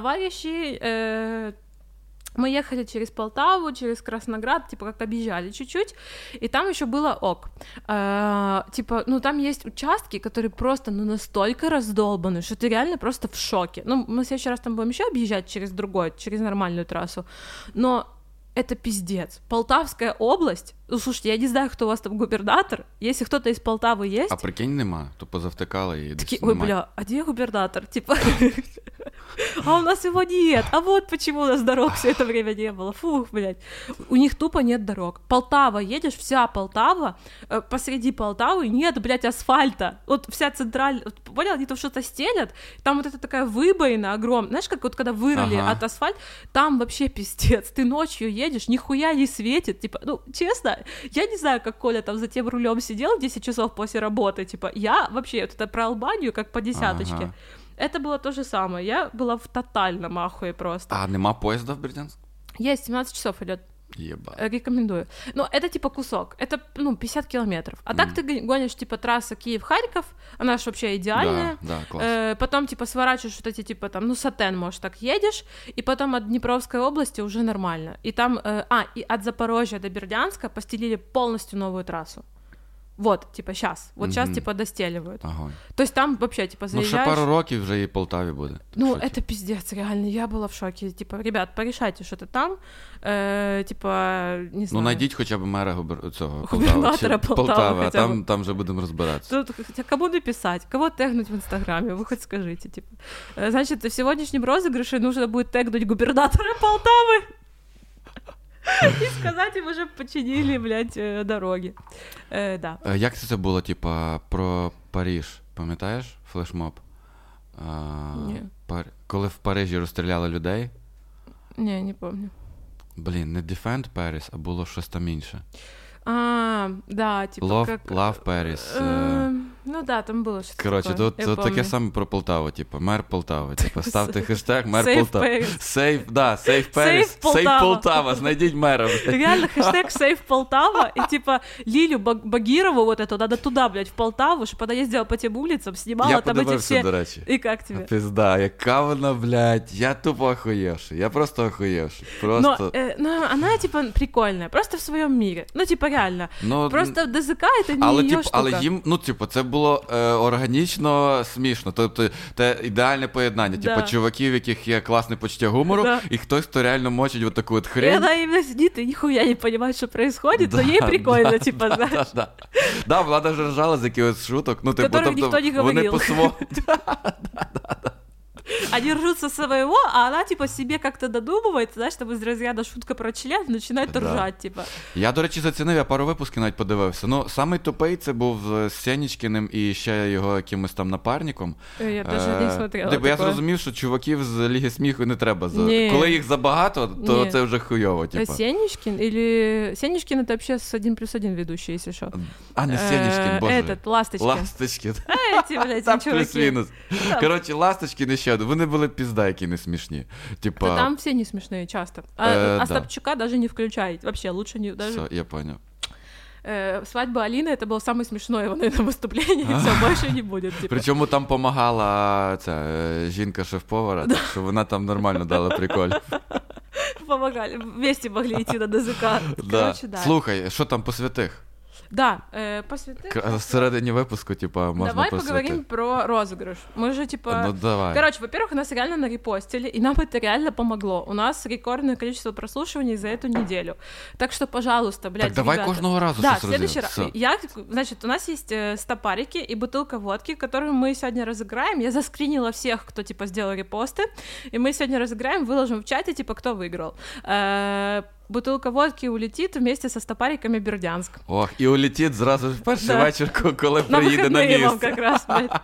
товарищи, мы ехали через Полтаву, через Красноград, типа как объезжали чуть-чуть, и там еще было ок. Типа, ну там есть участки, которые просто, ну настолько раздолбаны, что ты реально просто в шоке. Ну, мы в следующий раз там будем еще объезжать через нормальную трассу, но это пиздец. Полтавская область, ну слушайте, я не знаю, кто у вас там губернатор, если кто-то из Полтавы есть... А прикинь, нема, то позавтикали і такие, ой, бля, а где губернатор? Типа, а у нас его нет, а вот почему у нас дорог все это время не было, фух, блядь. У них тупо нет дорог. Полтава, едешь, вся Полтава, посреди Полтавы нет, блядь, асфальта. Вот вся центральная, понял, они там что-то стелят, там вот это такая выбоина огромная, знаешь, как вот когда вырыли от асфальта, там вообще пиздец, ты ночью едешь, нихуя не светит, типа, ну, честно, я не знаю, как Коля там за тем рулем сидел 10 часов после работы, типа, я вообще, вот это про Албанию, как по десяточке, это было то же самое, я была в тотальном ахуе просто. А нема поезда в Бердянск? Есть, 17 часов идет. Ебать. Рекомендую. Но это типа кусок, это, ну, 50 километров. А так ты гонишь, типа, трасса Киев-Харьков, она же вообще идеальная. Да, класс. Потом, типа, сворачиваешь вот эти, типа, там, ну, Сатен, может, так едешь, и потом от Днепровской области уже нормально. И там, и от Запорожья до Бердянска постелили полностью новую трассу. Вот, типа, сейчас. Вот сейчас, типа, достеливают. Огонь. То есть там вообще, типа, заезжаешь... Ну, ще пару років вже і Полтаві буде. Ну, это пиздец, реально, я была в шоке. Типа, ребят, порешайте что-то там, типа, не знаю. Ну, найдіть хоча б мера губернатора Полтави, а там вже будемо розбиратися. Тут, хотя кому написать, кого тегнуть в Инстаграме, вы хоть скажите, типа. Значит, в сегодняшнем розыгрыше нужно будет тегнуть губернатора Полтавы. І сказати, ми вже починили, блядь, дороги. Да. Як це було, типа, про Париж? Пам'ятаєш флешмоб? Ні. Коли в Парижі розстріляли людей? Ні, не пам'ятаю. Блін, не Defend Paris, а було щось там інше. Да, типа Love Paris. Ну да, там було щось Коротше, таке. тут таке саме про Полтаву, типу, мер Полтави. Типу, ставте хештег мер Save Полтава. Paris. Save Paris. Save Полтава. Save Полтава, знайдіть мера. Реально, хэштег Save Полтава, и типа Лилю Багирову вот эту надо туда, блядь, в Полтаву, чтобы она ездила по тем улицам, снимала Я там эти подивився, все... до речі. И как тебе? Пизда, яка вона, блядь, я тупо охуєвший. Я просто охуєвший. Просто... Но она, типа, прикольная, просто в своем мире. Ну, типа, реально. Ну, просто ДЗК — это не але, ее типу, штука. але їм, ну, типу, це було органічно смішно. Тобто, це ідеальне поєднання. Да. Типу, чуваків, в яких є класне почуття гумору, Да. і хтось, хто реально мочить от таку от И хрень. она именно сидит и нихуя не понимает, что происходит, но ей прикольно, типа, знаешь. Да, вона даже ржала з якихось шуток. Ну, типу, Которых ніхто не вони говорив. по-своєму. Они ржут со своего, а она, типа, себе как-то додумывает, знаешь, там из разряда шутка про член, начинает Да. ржать, типа. Я, до речі, зацінив, я пару випусків навіть подивився. Ну, самий тупий це був з Сенічкіним і ще його якимось там напарником. Я даже не смотрела Типу, я такое. зрозумів, що чуваків з Ліги сміху не треба. Ні. Коли їх забагато, то Ні. це вже хуйово, типу. Сенечкин или... Сенечкин — это вообще с 1+1 ведущий, если что. А, не Сенічкін, боже. Этот, Ласточкин. Ласточкін. Эти, блядь, Там чуваки. плюс-мінус. Коротше, Ласточкін і ще один. Вони були пізда, які не смішні. Типа... Да там все не смешные часто. Да. Остапчука даже не включайте. Вообще, лучше не... Даже... Все, я понял. Свадьба Алины — это было самое смешное его, наверное, выступление, и все, больше не будет. Типа. Причому там помагала ця жінка шеф-повара, так що вона там нормально дала прикольно. Помогали. Вместе могли идти на ДЗК. Да. Короче, да. Слухай, що там по святих? Да, по святым. Всередині випуску, типа, можна Давай про поговорим святих. про розыгрыш. Мы же, типа... Ну, давай. Короче, во-первых, нас реально нарепостили, и нам это реально помогло. У нас рекордное количество прослушиваний за эту неделю. Так что, пожалуйста, блядь, Так давай ребята. кожного разу Да, щось в следующий раз. Всё. Значит, у нас есть стопарики и бутылка водки, которую мы сегодня разыграем. Я заскринила всех, кто, типа, сделал репосты, и мы сегодня разыграем, выложим в чате, типа, кто выиграл. Бутылка водки улетит вместе со стопариками Бердянск. Ох, і улетить зразу в перший Да. вечір, коли На приїде на выходные вам місце. как раз, блядь.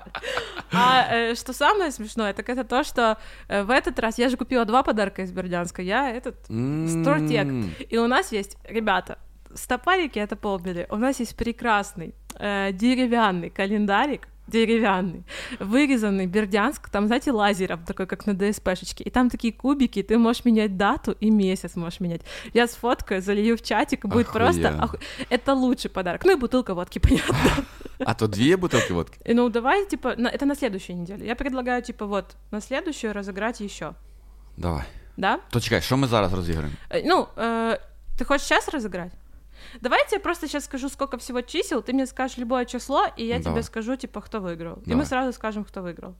Что самое смешное, так это то, что в этот раз я же купила 2 подарка из Бердянска. Я этот Стортек. И у нас есть, ребята, стопарики — это полбеды. У нас есть прекрасный деревянный календарик, деревянный, вырезанный Бердянск, там, знаете, лазером, такой, как на ДСПшечке, и там такие кубики, ты можешь менять дату и месяц можешь менять. Я сфоткаю, залью в чатик, и будет Охуенно. просто... Это лучший подарок. Ну и бутылка водки, понятно. А то 2 бутилки водки? Ну, давай, типа, это на следующей неделе. Я предлагаю, типа, вот, на следующую разыграть еще. Давай. Да? То чекай, що ми зараз розіграємо? Ну, ты хочешь сейчас разыграть? Давай я тебе просто сейчас скажу, сколько всего чисел, ты мне скажешь любое число, и я Давай. тебе скажу, типа, кто выиграл. И Давай. мы сразу скажем, кто выиграл.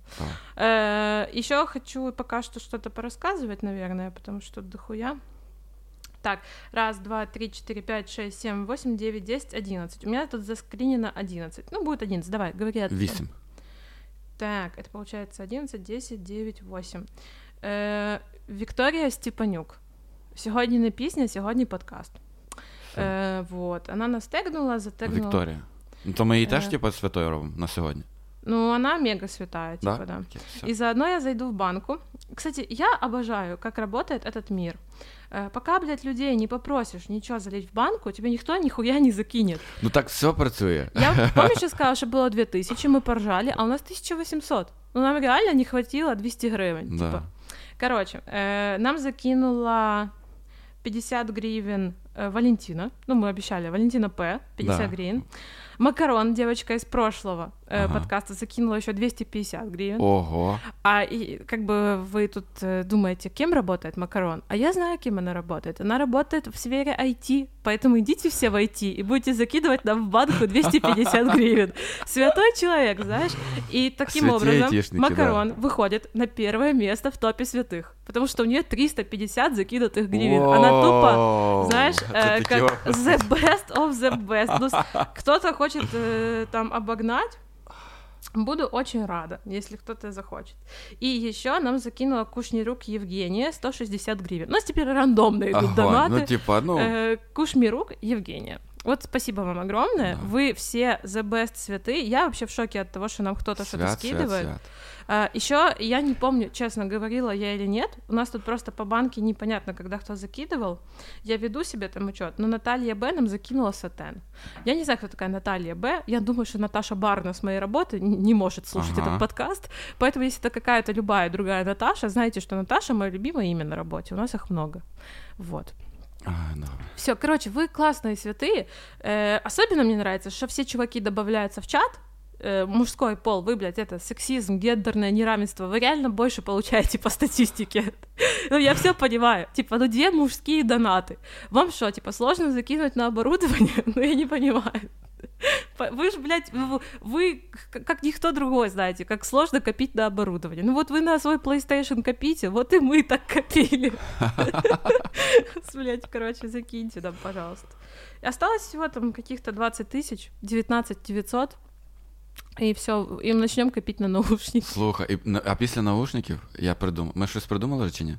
Еще хочу пока что что-то порассказывать, наверное, потому что дохуя. Так, 1, 2, 3, 4, 5, 6, 7, 8, 9, 10, 11. У меня тут заскринено 11. Ну, будет 11, давай, говори. 8. Так, это получается 11, 10, 9, 8. Вікторія Степанюк. Сьогодні не пісня, сьогодні подкаст. Вот. Она нас тегнула, затегнула. Вікторія. Ну, то ми її теж, типу, святою робимо на сьогодні? Ну, она мега святая, типа, да. Окей, всё. И заодно я зайду в банку. Кстати, я обожаю, как работает этот мир. Пока, блядь, людей не попросишь ничего залить в банку, тебе никто нихуя не закинет. Ну так все працює. Я, помнишь, я сказала, что было 2000, мы поржали, а у нас 1800. Ну, нам реально не хватило 200 гривен. Да. Типа. Короче, нам закинула 50 гривен Валентина. Ну, мы обещали, Валентина П. 50 Да. гривен. Макарон, девочка из прошлого подкаста, закинула еще 250 гривен. Ого. И как бы вы тут думаете, кем работает Макарон? А я знаю, кем она работает. Она работает в сфере IT, поэтому идите все в IT и будете закидывать нам в банку 250 гривен. Святой человек, знаешь? И таким Святые образом айтишники, Макарон выходит на первое место в топе святых, потому что у нее 350 закинутых гривен. Она тупо, знаешь, как the best of the best. Ну, кто-то хочет там обогнать, буду очень рада, если кто-то захочет. И еще нам закинула Кушнирук Евгения 160 гривен. У нас теперь рандомно идут донаты. Ну, типа, ну... Кушмирук Евгения. Вот спасибо вам огромное. Да. Вы все the best святы. Я вообще в шоке от того, что нам кто-то что-то скидывает. Еще я не помню, честно, говорила я или нет. У нас тут просто по банке непонятно, когда кто закидывал. Я веду себе там учет, но Наталья Б. нам закинула сатен. Я не знаю, кто такая Наталья Б. Я думаю, что Наташа Барна с моей работы не может слушать этот подкаст. Поэтому, если это какая-то любая другая Наташа, знайте, что Наташа мое любимое имя на работе. У нас их много. Вот. Все, короче, вы классные святые. Особенно мне нравится, что все чуваки добавляются в чат. Мужской пол, вы, блядь, это сексизм, гендерное неравенство, вы реально больше получаете по статистике. Ну, я все понимаю. Типа, 2 мужские донаты. Вам что, типа, сложно закинуть на оборудование? Ну, я не понимаю. Вы же, блядь, вы как никто другой знаете, как сложно копить на оборудование. Ну вот вы на свой PlayStation копите, вот и мы так копили. Блядь, короче, закиньте нам, пожалуйста. Осталось всего там каких-то 20 тысяч, 19 900, і все, і почнемо копити на наушники. Слухай, а після наушників я придумав. Ми щось придумали чи ні?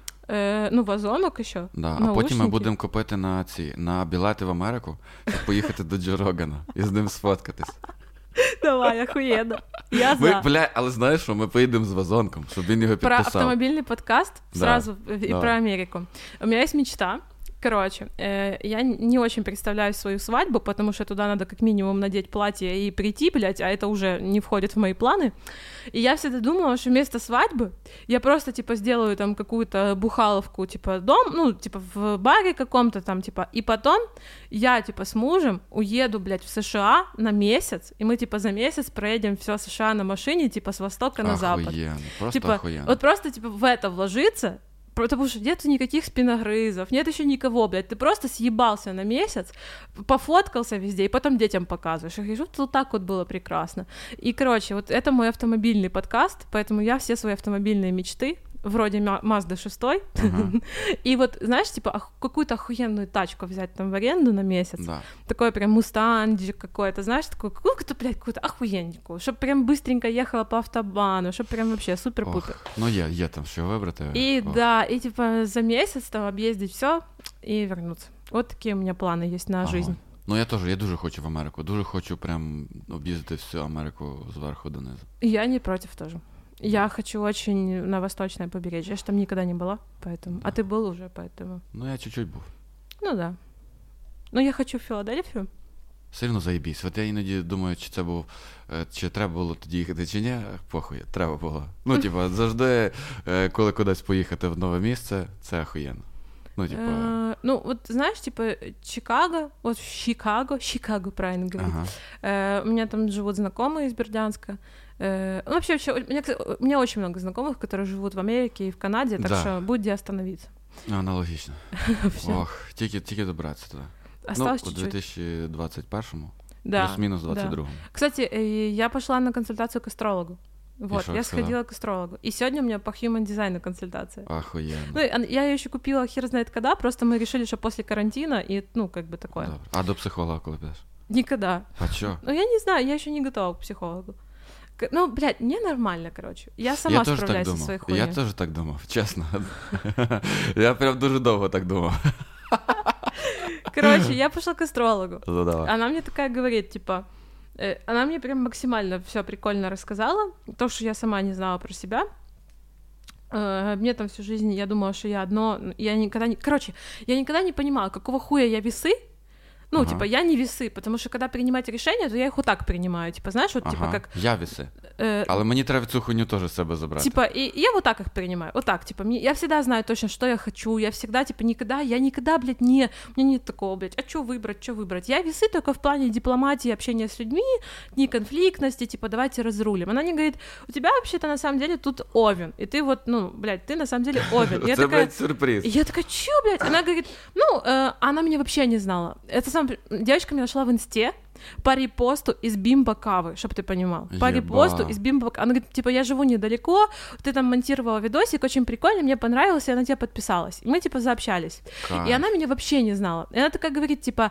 Ну, вазонок ще. Да. А потім ми будемо копити на білети в Америку, щоб поїхати до Джо Рогана і з ним сфоткатись. Давай, охуєнно. Я за. Бля, але знаєш що, ми поїдемо з вазонком, щоб він його підписав. Про автомобильный подкаст сразу и про Америку. У меня есть мечта. Короче, я не очень представляю свою свадьбу, потому что туда надо как минимум надеть платье и прийти, блядь, а это уже не входит в мои планы. И я всегда думала, что вместо свадьбы я просто, типа, сделаю там какую-то бухаловку, типа, дом, ну, типа, в баре каком-то там, типа, и потом я, типа, с мужем уеду, блядь, в США на месяц, и мы, типа, за месяц проедем всё США на машине, типа, с востока на запад. Охуенно, просто типа, охуенно. Вот просто, типа, в это вложиться. Потому что нет никаких спиногрызов, нет еще никого, блядь, ты просто съебался на месяц, пофоткался везде, и потом детям показываешь. Я говорю, вот так вот было прекрасно. И, короче, вот это мой автомобильный подкаст, поэтому я все свои автомобильные мечты, вроде Mazda 6, и вот, знаешь, типа, какую-то охуенную тачку взять там в аренду на месяц, такой прям мустанджик какой-то, знаешь, такой, какую-то, блядь, какую-то охуенненькую, чтобы прям быстренько ехала по автобану, чтобы прям вообще супер-пупер. Ну, є там що вибрати. И да, и типа за месяц там объездить все и вернуться. Вот такие у меня планы есть на жизнь. Ну, я дуже хочу в Америку, дуже хочу прям об'їздити всю Америку зверху донизу. Я не против тоже. Я хочу очень на восточное побережье. Я же там никогда не была, поэтому... А ты был уже, поэтому... Ну, я чуть-чуть був. Ну, да. Но я хочу в Філадельфію. Все одно заєбісь. От я іноді думаю, чи це був... Чи треба було тоді їхати, чи ні. Похуй, треба було. Ну, типа, завжди, коли кудись поїхати в нове місце, це охуєнно. Ну, типа... Ну, вот знаешь, типа, Чикаго, вот Чикаго, правильно говорить. У меня там живут знакомые из Бердянска. Ну, вообще, у меня очень много знакомых, которые живут в Америке и в Канаде, так что будет где остановиться. Аналогично. Ох, тільки добратися туди. Осталось у чуть-чуть. 2021-му, да, плюс-мінус 22-му. Да. Кстати, я пошла на консультацию к астрологу. Вот, я сходила к астрологу. И сегодня у меня по human дизайну консультация. Охуенно. Ну, я ее еще купила хер знает когда, просто мы решили, что после карантина, и, ну, как бы такое. Добре. А до психолога коли підеш? Никогда. А чё? Ну, я не знаю, я еще не готова к психологу. Ну, блядь, мне нормально, короче. Я сама справляюсь со своей хуйней. Я теж так думав, чесно. Я прям дуже довго так думав. Короче, я пошла к астрологу. Задавай. Она мне такая говорит, типа... Она мне прям максимально всё прикольно рассказала. То, что я сама не знала про себя. Мне там всю жизнь, я думала, что я одно... Я никогда не понимала, какого хуя я весы. Ну, типа, я не весы, потому что, когда принимать решения, то я их вот так принимаю. Типа, знаешь, вот, типа, как... Я весы. Але мені треба цю хуйню теж з себе забрати. Типа, и я вот так их принимаю. Вот так, типа, я всегда знаю точно, что я хочу. Я всегда, типа, я никогда, блядь, у меня нет такого, блядь, а что выбрать? Я весы только в плане дипломатии, общения с людьми, не конфликтности, типа, давайте разрулим. Она мне говорит, у тебя вообще-то на самом деле тут овен. И ты вот, ну, блядь, ты на самом деле овен. Это, блядь, сюрприз. Я такая, чё, блядь? Она говорит, ну, она меня вообще не знала. Это девочка меня нашла в инсте по репосту из Бимбо Кавы, чтобы ты понимал. По репосту из Бимбо Кавы. Она говорит, типа, я живу недалеко, ты там монтировала видосик, очень прикольно, мне понравилось, и она тебе подписалась. И мы, типа, заобщались. И она меня вообще не знала. И она такая говорит, типа,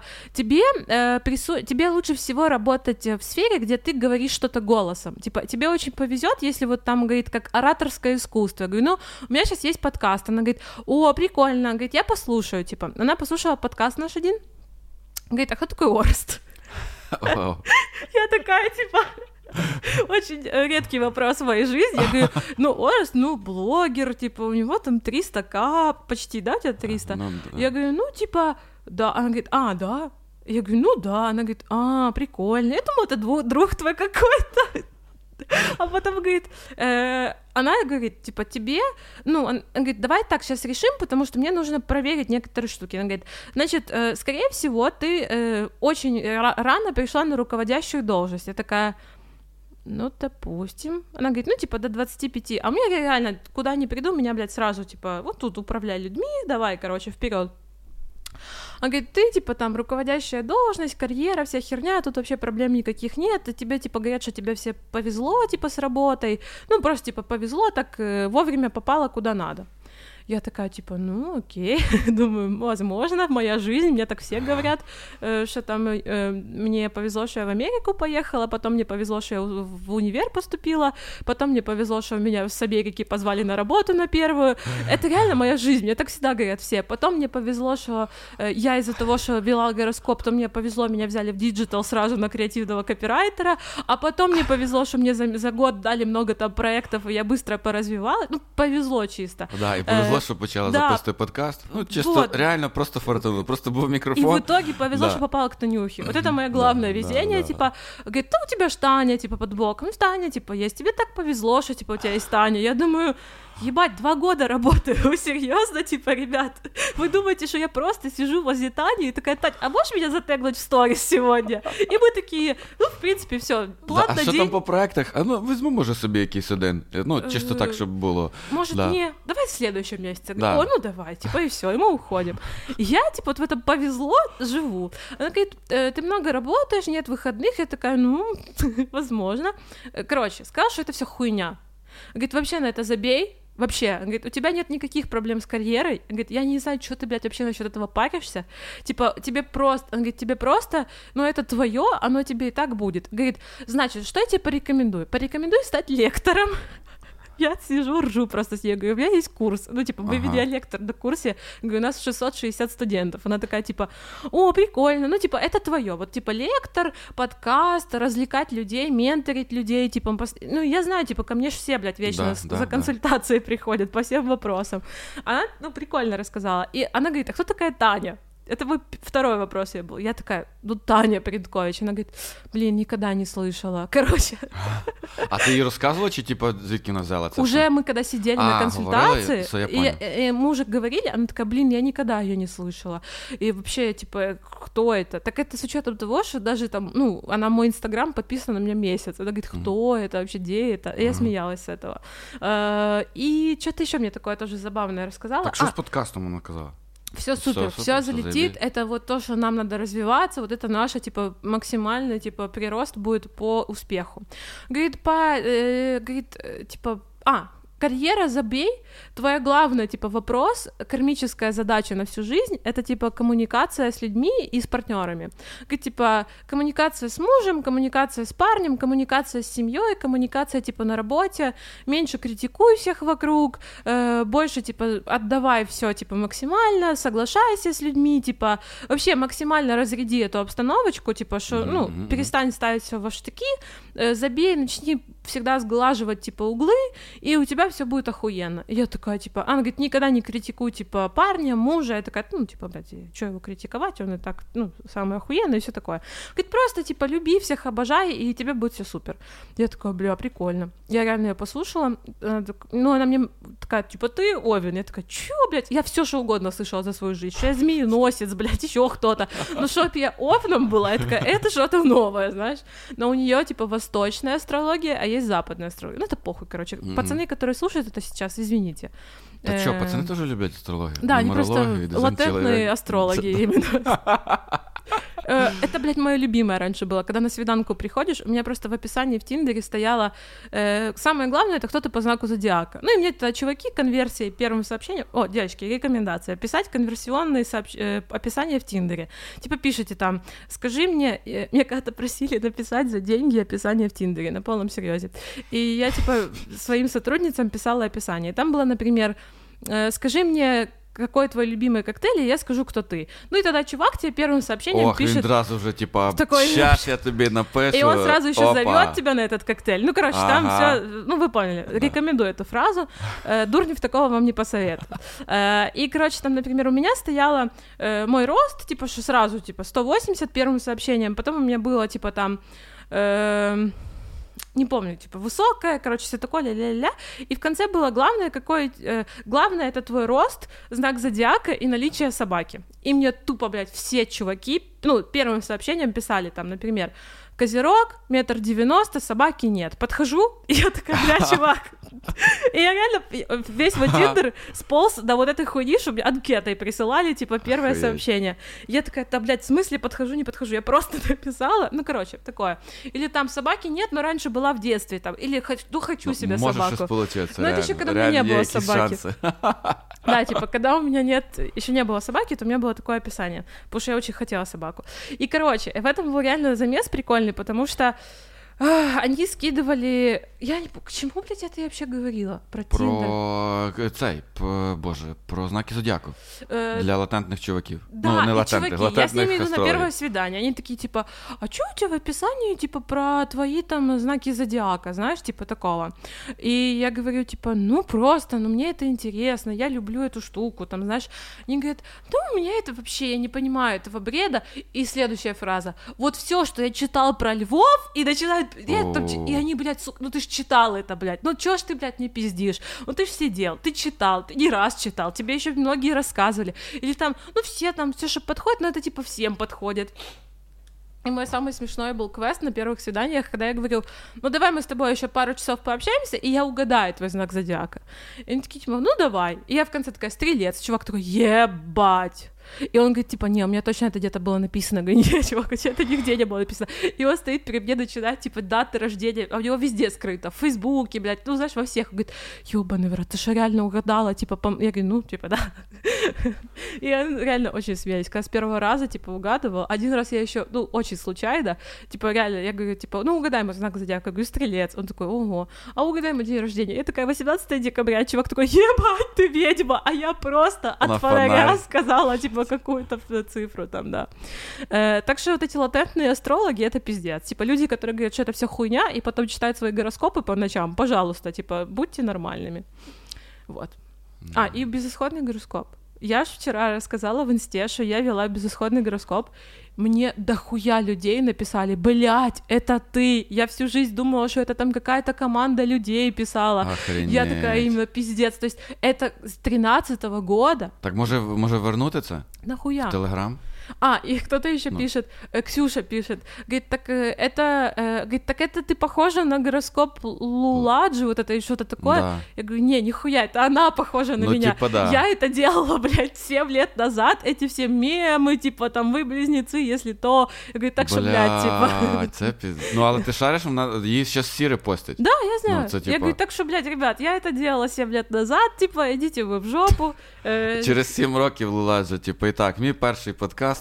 тебе лучше всего работать в сфере, где ты говоришь что-то голосом. Типа, тебе очень повезет, если вот там, говорит, как ораторское искусство. Я говорю, ну, у меня сейчас есть подкаст. Она говорит, о, прикольно. Она говорит, я послушаю, типа. Она послушала подкаст наш один. Говорит, а кто такой Орст? Вау. Я такая, типа... Очень редкий вопрос в моей жизни. Я говорю, Орст, блогер, типа, у него там 300к, почти, да, у тебя 300? Я говорю, типа, да. Она говорит, да. Я говорю, да. Она говорит, прикольно. Я думала, это друг твой какой-то. А потом говорит, она говорит, типа, тебе, она говорит, давай так сейчас решим, потому что мне нужно проверить некоторые штуки. Она говорит, значит, скорее всего, ты очень рано пришла на руководящую должность. Я такая... допустим. Она говорит, типа, до 25. А у меня реально, куда ни приду, меня, блядь, сразу, типа, вот тут управляй людьми, давай, короче, вперед. Она говорит, ты, типа, там, руководящая должность, карьера, вся херня, тут вообще проблем никаких нет, и тебе, типа, говорят, что тебе все повезло, типа, с работой, просто, типа, повезло, так вовремя попала куда надо. Я такая, типа, окей, думаю, возможно, моя жизнь, мне так все говорят, что там мне повезло, что я в Америку поехала, потом мне повезло, что я в универ поступила, потом мне повезло, что меня с Америки позвали на работу на первую. Это реально моя жизнь, мне так всегда говорят все. Потом мне повезло, что я из-за того, что вела гороскоп, то мне повезло, меня взяли в диджитал сразу на креативного копирайтера, а потом мне повезло, что мне за год дали много там проектов, и я быстро поразвивала. Повезло чисто. Да, и повезло, что почала записувати подкаст. Чисто вот. Реально просто фортуна, просто был микрофон. И в итоге повезло, что попала к Танюхе. Вот это мое главное везение, типа, говорит, у тебя ж Таня, типа, под боком, Таня, типа, есть, тебе так повезло, что, типа, у тебя есть Таня. Я думаю, ебать, 2 года работаю, серьезно, типа, ребят, вы думаете, что я просто сижу возле Тани и такая, Тань, а можешь меня затегнуть в сторис сегодня? И мы такие, в принципе, все, план на день. А що там по проектах? Візьму, може, собі якийсь один, чисто так, щоб було. Может, не, давай в следующем месяце. Да. Давай, типа, и все, и мы уходим. И я, типа, вот в этом повезло, живу. Она говорит, ты много работаешь, нет выходных. Я такая, возможно. Короче, сказала, что это все хуйня. Говорит, вообще на это забей. Вообще, он говорит, у тебя нет никаких проблем с карьерой. Он говорит, я не знаю, что ты, блядь, вообще насчет этого паришься. Типа, тебе просто, он говорит, тебе просто, это твое, оно тебе и так будет. Говорит, значит, что я тебе порекомендую? Порекомендую стать лектором. Я сижу, ржу просто с ней, говорю, у меня есть курс, выведи я лектор на курсе, говорю, у нас 660 студентов, она такая, типа, о, прикольно, это твое, вот, типа, лектор, подкаст, развлекать людей, менторить людей, типа, я знаю, типа, ко мне же все, блядь, вечно за консультацией приходят по всем вопросам, она, прикольно рассказала, и она говорит, а кто такая Таня? Это мой второй вопрос был. Я такая, Таня Придкович. Она говорит, никогда не слышала. Короче. А ты ей рассказывала, чи, типа, звідки вона взяла це? Уже мы когда сидели на консультации, и мы уже говорили, она такая, я никогда ее не слышала. И вообще, типа, кто это? Так это с учетом того, что даже там, она мой Инстаграм подписана на меня месяц. Она говорит, кто это вообще, где это? И я смеялась с этого. И что-то еще мне такое тоже забавное рассказала. Так что с подкастом она сказала? Все супер, все залетит, это вот то, что нам надо развиваться, вот это наше, типа, максимальный, типа, прирост будет по успеху. Говорит, карьера забей, твоя главная, типа, вопрос, кармическая задача на всю жизнь, это, типа, коммуникация с людьми и с партнерами. Говорит, типа, коммуникация с мужем, коммуникация с парнем, коммуникация с семьей, коммуникация, типа, на работе, меньше критикуй всех вокруг, больше, типа, отдавай все, типа, максимально, соглашайся с людьми, типа, вообще максимально разряди эту обстановочку, типа, что, перестань ставить все во штыки, забей, начни всегда сглаживать, типа, углы, и у тебя все будет охуенно. И я такая, типа, она говорит, никогда не критикуй, типа, парня, мужа. Я такая, типа, блядь, что его критиковать, он и так, самый охуенный и все такое. Говорит, просто, типа, люби всех, обожай, и тебе будет все супер. Я такая, бля, прикольно. Я реально ее послушала, она мне такая, типа, ты Овен. Я такая, чё, блядь, я все что угодно слышала за свою жизнь, что я змееносец, блядь, еще кто-то. Чтоб я Овном была, я такая, это что-то новое, знаешь. Но у нее типа, восточная астрология, а есть западная астрология. Это похуй, короче. Пацаны, которые слушают это сейчас, извините. Так что, пацаны тоже любят астрологию? Да, они просто латентные астрологи именно. Это, блядь, мое любимое раньше было. Когда на свиданку приходишь, у меня просто в описании в Тиндере стояло самое главное, это кто-то по знаку зодиака. И мне это чуваки конверсии первым сообщением... О, девочки, рекомендация. Писать конверсионные описания в Тиндере. Типа пишите там, скажи мне... Меня когда-то просили написать за деньги описание в Тиндере, на полном серьезе. И я, типа, своим сотрудницам писала описание. Там было, например, скажи мне, какой твой любимый коктейль, и я скажу, кто ты. Ну и тогда чувак тебе первым сообщением пишет... Він одразу вже, типа, такой... сейчас я тобі напишу. И он сразу еще Опа. зовет тебя на этот коктейль. Ну, короче, там все... Ну, вы поняли. Рекомендую эту фразу. Дурнев такого вам не посоветует. И, короче, там, например, у меня стояло мой рост, типа, что сразу, типа, 180 первым сообщением, потом у меня было, типа, там... не помню, типа, высокая, короче, все такое, ля-ля-ля, и в конце было главное это твой рост, знак зодиака и наличие собаки. И мне тупо, блядь, все чуваки, ну, первым сообщением писали там, например, Козерог, 1,90 м, собаки нет. Подхожу, и я такая, бля, чувак. И я реально весь вот Тиндер сполз до вот этой хуйни, чтобы мне анкетой присылали, типа, первое сообщение. Я такая, да, блядь, в смысле подхожу, не подхожу? Я просто написала, ну, короче, такое. Или там собаки нет, но раньше была в детстве, там, или хочу себе собаку. Может сейчас получается, но это еще когда у меня не было собаки. Шансы. Да, типа, когда у меня еще не было собаки, то у меня было такое описание, потому что я очень хотела собаку. И, короче, в этом был реально замес прикольный, потому что они скидывали... Я не помню, к чему, блядь, это я вообще говорила? Про Тиндер? Про знаки зодіаку. Для латентных чуваків. Да, ну, не и латентных, чуваки, я с ними иду на астрологів. первое свидание, они такие, типа, а чё у тебя в описании, типа, про твои там знаки зодиака, знаешь, типа, такого. И я говорю, типа, ну, просто, ну, мне это интересно, я люблю эту штуку, там, знаешь. Они говорят, да у меня это вообще, я не понимаю этого бреда. И следующая фраза, вот всё, что я читал про львов, и начинают, и они, блядь, сука, ну, ты ж читал это, блядь, ну, чё ж ты, блядь, не пиздишь, ну, ты ж сидел, ты читал, ты не раз читал, тебе еще многие рассказывали, или там, ну, все там, все, что подходит, но это, типа, всем подходит. И мой самый смешной был квест на первых свиданиях, когда я говорю, ну, давай мы с тобой еще пару часов пообщаемся, и я угадаю твой знак зодиака. И они такие, типа, ну, давай. И я в конце такая, стрелец. Чувак такой, ебать. И он говорит, типа, не, у меня точно это где-то было написано. Я говорю, нет, чувак, это нигде не было написано. И он стоит перед мне, начинает, типа, даты рождения, а у него везде скрыто, в Фейсбуке, блядь, ну, знаешь, во всех. Он говорит, ёбаный в рот, ты что, реально угадала, типа, я говорю, ну, типа, да. И они реально очень смеялись, когда с первого раза, типа, угадывал. Один раз я еще, ну, очень случайно, типа, реально, я говорю, типа, ну, угадай мой знак зодиака, я говорю, стрелец. Он такой, ого, а угадай мой день рождения. Я такая, 18 декабря, чувак такой, ебать, ты ведьма, а я просто от фонаря сказала, типа, какую-то цифру там, да. Так что вот эти латентные астрологи — это пиздец. Типа люди, которые говорят, что это все хуйня, и потом читают свои гороскопы по ночам, пожалуйста, типа, будьте нормальными. Вот. И безысходный гороскоп. Я ж вчера рассказала в инсте, что я вела безысходный гороскоп. Мне дохуя людей написали, блядь, это ты. Я всю жизнь думала, что это там какая-то команда людей писала. Охренеть. Я такая, именно пиздец. То есть это с 13-го года. Так може вернути це? Нахуя? В Телеграм? И кто-то еще пишет, Ксюша пишет, говорит, так это ты похожа на гороскоп Луладжи, вот это и что-то такое. Да. Я говорю, не, нихуя, это она похожа на меня. Типа, да. Я это делала, блядь, 7 лет назад, эти все мемы, типа, там, вы близнецы, если то. Я говорю, так что, блядь, типа. Це ну, але ти шариш, її зараз всі репостять. Да, я знаю. Це, типа... Я говорю, так что, блядь, ребят, я это делала 7 лет назад, типа, идите вы в жопу. Через 7 років Луладжа, типа, і так, мій перший подкаст.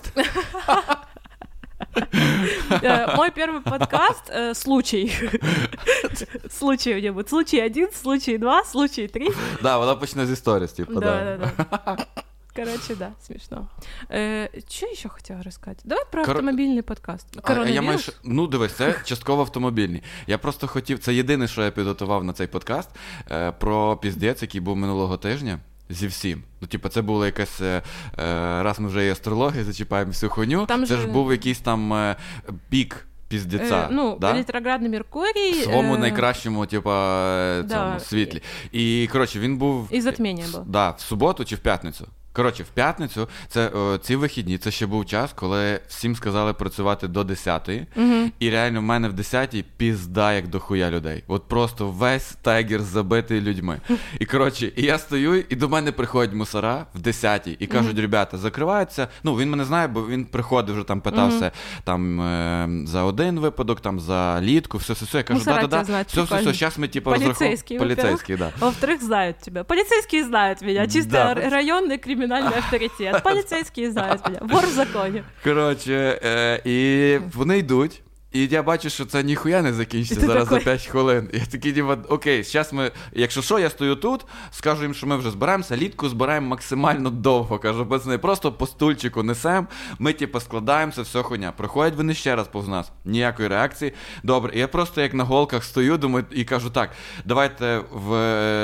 Мой первый подкаст случай. Случай у него. Случай 1, случай 2, случай 3. Да, вона почне з історії, типа, да. Короче, да, смешно. Что еще хотела рассказать? Давай про автомобільний подкаст. Коронавірус? Ну, дивись, це частково автомобільний. Я просто хотів, це єдине, що я підготував на цей подкаст, про піздець, який був минулого тижня. Зі всім. Ну, типу, це було якесь, раз ми вже і астрологію зачіпаємо всю хуйню, там це ж був якийсь там пік піздеця. Да? Ретроградний Меркурій. В своєму найкращому, цьому світлі. І, коротше, він був... І затміння було. Да, в суботу чи в п'ятницю. Коротше, в п'ятницю, ці вихідні, це ще був час, коли всім сказали працювати до 10-ї, і реально в мене в 10-й пізда як дохуя людей. От просто весь тайгер забитий людьми. І, коротше, і я стою, і до мене приходять мусора в 10-й, і кажуть, ребята, закриваються. Ну, він мене знає, бо він приходив, вже там питався там за один випадок, там за літку, все. Я кажу, да-да-да, все, зараз ми, типу, розраховуємо. Поліцейський, да. Во-вторых, знають тебе. Поліцейські знають мене, чисто районний кримінальний авторитет. Поліцейські знають мене. Вор в законі. Коротше, і вони йдуть, І я бачу, що це ніхуя не закінчиться зараз за 5 хвилин. Я такий, типа, окей, зараз ми, якщо що, я стою тут, скажу їм, що ми вже збираємося, літку збираємо максимально довго. Кажу, пацани, просто по стульчику несемо, ми, типа, складаємося, все хуйня. Проходять вони ще раз повз нас, ніякої реакції. Добре, я просто як на голках стою, думаю, і кажу, так, давайте в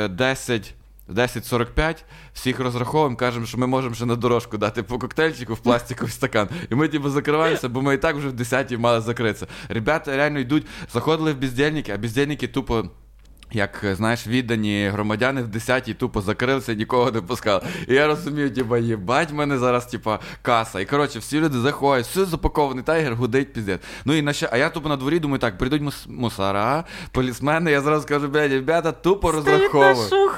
10:45 всіх розраховуємо, кажемо, що ми можемо ще на дорожку дати по коктейльчику в пластиковий стакан. І ми типу закриваємося, бо ми і так вже в 10-й мали закритися. Ребята реально йдуть, заходили в бездельники, а бездельники тупо, як, знаєш, віддані громадяни в 10-й тупо закрилися і нікого не пускали. І я розумію, типа, їбать, в мене зараз, типа, каса. І, коротше, всі люди заходять, все запакований тайгер, гудить, піздець. Ну і а я тупо на дворі думаю, так, прийдуть мусора, полісмени, я зразу скажу, блядь, ребята, тупо розраховую.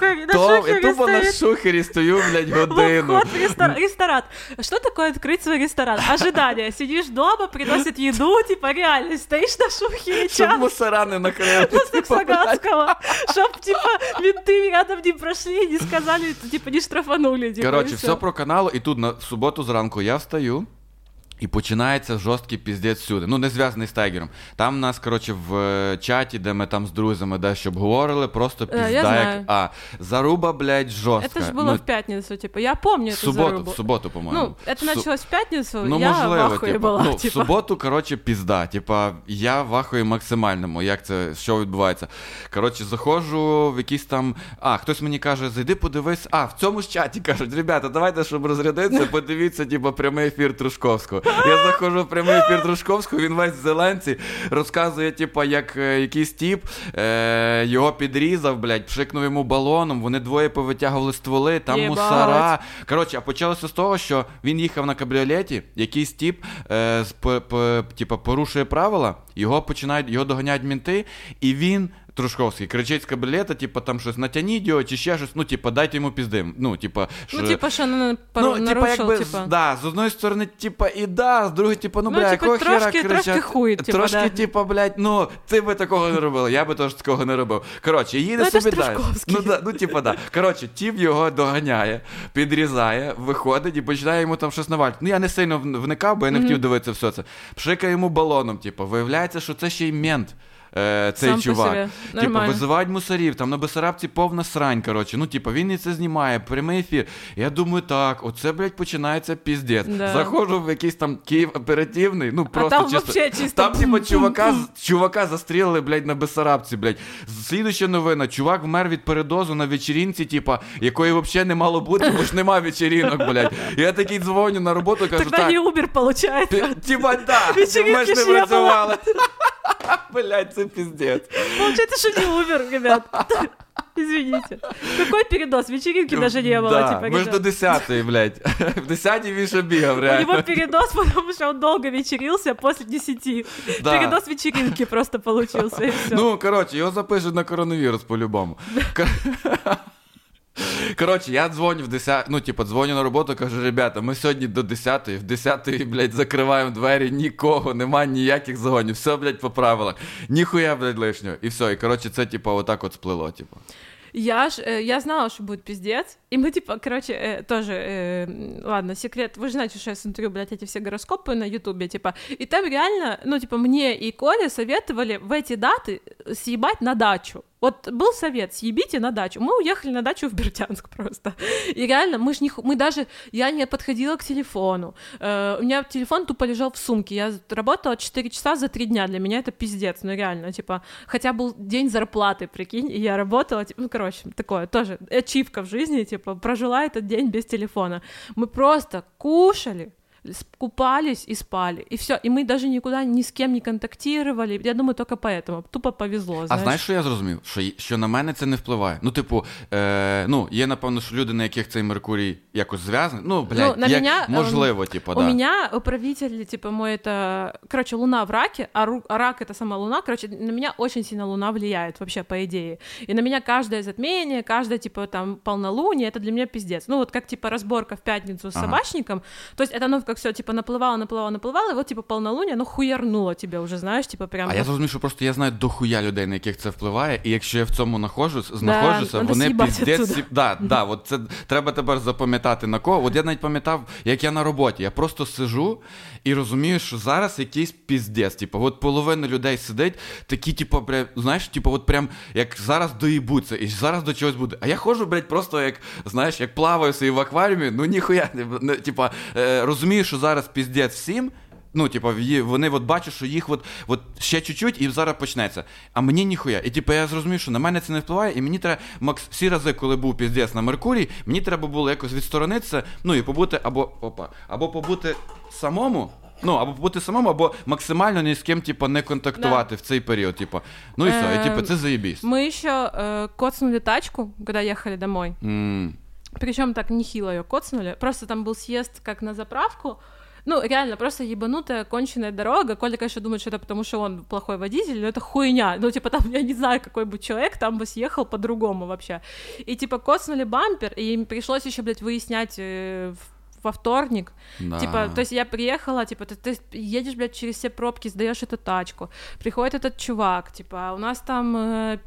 И тупо на шухері стою, блядь, годину. Вход в ресторан. Что такое открыть свой ресторан? Ожидание. Сидишь дома, приносят еду, типа, реально, стоишь на шухере час. Щоб мусора не накрили. Просто Саганского. Щоб, типа, менты рядом не прошли, не сказали, типа, не штрафанули. Типа, коротше, все про канал, і тут в суботу зранку я встаю, і починається жорсткий піздець всюди. Ну, не зв'язаний з Тайгером. Там у нас, коротше, в чаті, де ми там з друзями дещо обговорили, просто пізда як... заруба, блядь, жорстка. Это ж было в пятницу, типа, я помню эту зарубу. В суботу, по-моєму. Ну, это началось в пятницу, ну, я можливо, в ахуї була. Ну, в суботу, коротше, пізда. Типа, я в ахуї максимальному, як це, що відбувається. Коротше, заходжу в якийсь там... хтось мені каже, зайди подивись. В цьому ж чаті кажуть, ребята, давайте, щоб розрядитися, подивіться, типа, прямий ефір Трушковського. Я заходжу в прямий ефір Трушковського, він весь в зеленці, розказує, типа, як якийсь тіп його підрізав, блядь, пшикнув йому балоном, вони двоє повитягували стволи, там мусора. Коротше, а почалося з того, що він їхав на кабріолеті, якийсь тіп, типа, порушує правила, його доганяють мінти, і він Трушковський кричить з кабріолета, типа, там щось натягніть його, чи ще щось, ну, типа, дайте йому пізди. Ну, типа, що нарушив, типа. Да, з одної сторони, типа, і да, з другої, типа, бля, якого хера кричать. Трошки хуй, типа, трошки, типа, блядь, ти би такого не робила, я би теж такого не робив. Коротше, їде собі далі. Типа, да. Коротше, тіп його доганяє, підрізає, виходить і починає йому там щось навалити. Ну, я не сильно вникав, бо я не хотів дивитися все це. Пшикає йому балоном, типа, виявляється, що це ще й мент. Цей сам чувак. Типа, визивають мусорів, там на Бессарабці повна срань, коротше. Ну, типа, він і це знімає, прямий ефір. Я думаю, так, оце, блядь, починається піздець. Да. Заходжу в якийсь там Київ оперативний, ну, просто там чисто. Там, типа, чувака застрілили, блядь, на Бессарабці, блядь. Слідуюча новина, чувак вмер від передозу на вечірінці, типа, якої взагалі не мало бути, бо ж нема вечірінок, блядь. Я такий дзвоню на роботу, кажу, так. Тогда не Uber, получається. Типа, да, ми ж не працювали. Блядь, це пиздец. Получается, что не Uber, ребят. Извините. Какой передоз? Вечеринки даже не было. Да, типа, мы ж до 10-ї, блядь. В 10-й він ще бігав, реально. У него передоз, потому что он долго вечерился после 10. Да. Передоз вечеринки просто получился, и все. Ну, короче, його запишуть на коронавірус по-любому. Коротше, я дзвоню дзвоню на роботу, кажу, ребята, ми сьогодні до 10-ї, в 10-ї, блядь, закриваємо двері, нікого, нема ніяких загонів, все, блядь, по правилах, ніхуя, блядь, лишнього, і все, і, коротше, це, типа, отак от сплило, типа. Я знала, что будет пиздец, и мы, типа, короче, тоже, ладно, секрет, вы же знаете, что я смотрю, блядь, эти все гороскопы на Ютубе, типа, и там реально, ну, типа, мне и Коле советовали в эти даты съебать на дачу. Вот был совет, съебите на дачу. Мы уехали на дачу в Бердянск просто. И реально, я не подходила к телефону. У меня телефон тупо лежал в сумке. Я работала 4 часа за 3 дня. Для меня это пиздец, ну реально, типа, хотя был день зарплаты, прикинь, и я работала, типа, ну, короче, такое тоже, ачивка в жизни, типа, прожила этот день без телефона. Мы просто кушали, купались и спали, и все, и мы даже никуда ни с кем не контактировали, я думаю, только поэтому, тупо повезло, знаєш. А знаєш, що я зрозумів? Що на мене це не впливає. Ну, типу, є, напевно, що люди, на яких цей Меркурій якось зв'язаний, ну, блядь, можливо, типу, да. У меня управитель, типа, мой это, короче, Луна в Раке, а Рак это сама Луна, короче, на меня очень сильно Луна влияет, вообще, по идее, и на меня каждое затмение, каждое, типа, там, полнолуние, это для меня пиздец, ну, вот как, типа, разборка в пятницу с собачником, то есть это оно как все, типа, наплывало, и вот, типа, полнолуние, ну, хуярнуло тебе уже, знаєш, типа, прям... А я зрозумів, що просто я знаю дохуя людей, на яких це впливає, і якщо я в цьому знаходжуся, вони піздець... Да, от це треба тепер запам'ятати на кого. От я навіть пам'ятав, як я на роботі, я просто сижу і розумію, що зараз якийсь піздець, типу, от половина людей сидить, такі, типу, знаєш, типу, от прям, як зараз доїбуться, і зараз до чогось буде. А я ходжу, блядь, просто як, знаєш, як плаваю собі в акваріумі, ну ніхуя, типу, розумію, що зараз піздець всім, ну, типу, вони от бачать, що їх от ще чуть-чуть і зараз почнеться. А мені ніхуя. І типу, я зрозумів, що на мене це не впливає, і мені треба, всі рази, коли був піздець на Меркурій, мені треба було якось відсторонитися, ну, і побути, або побути самому, ну, або побути самому, або максимально ні з ким, типу, не контактувати в цей період, типу. Ну і все, і, типу, це заєбісь. Мы еще коцнули тачку, когда ехали домой. Причем так нехило ее коцнули. Просто там был съезд как на заправку. Ну, реально, просто ебанутая, конченая дорога. Коля, конечно, думает, что это потому, что он плохой водитель, но это хуйня. Ну, типа, там, я не знаю, какой бы человек, там бы съехал по-другому вообще. И, типа, коцнули бампер, и им пришлось еще, блядь, выяснять во вторник. Да. Типа, то есть я приехала, типа, ты едешь, блядь, через все пробки, сдаешь эту тачку. Приходит этот чувак, типа, у нас там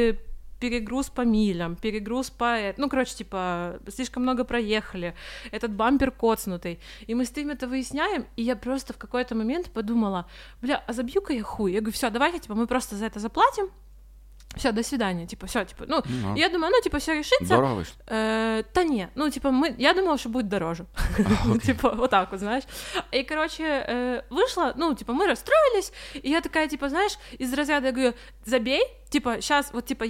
перегруз по милям, перегруз по... Ну, короче, типа, слишком много проехали, этот бампер коцнутый. И мы с ним это выясняем, и я просто в какой-то момент подумала, бля, а забью-ка я хуй. Я говорю, все, давайте, типа, мы просто за это заплатим, все, до свидания, типа, все, типа, ну, я думаю, ну, типа, все решится. Дорого вышло? Да не, ну, типа, я думала, что будет дороже, типа, вот так вот, знаешь, и, короче, вышло, ну, типа, мы расстроились, и я такая, типа, знаешь, из разряда, я говорю, забей, типа, сейчас, вот, типа,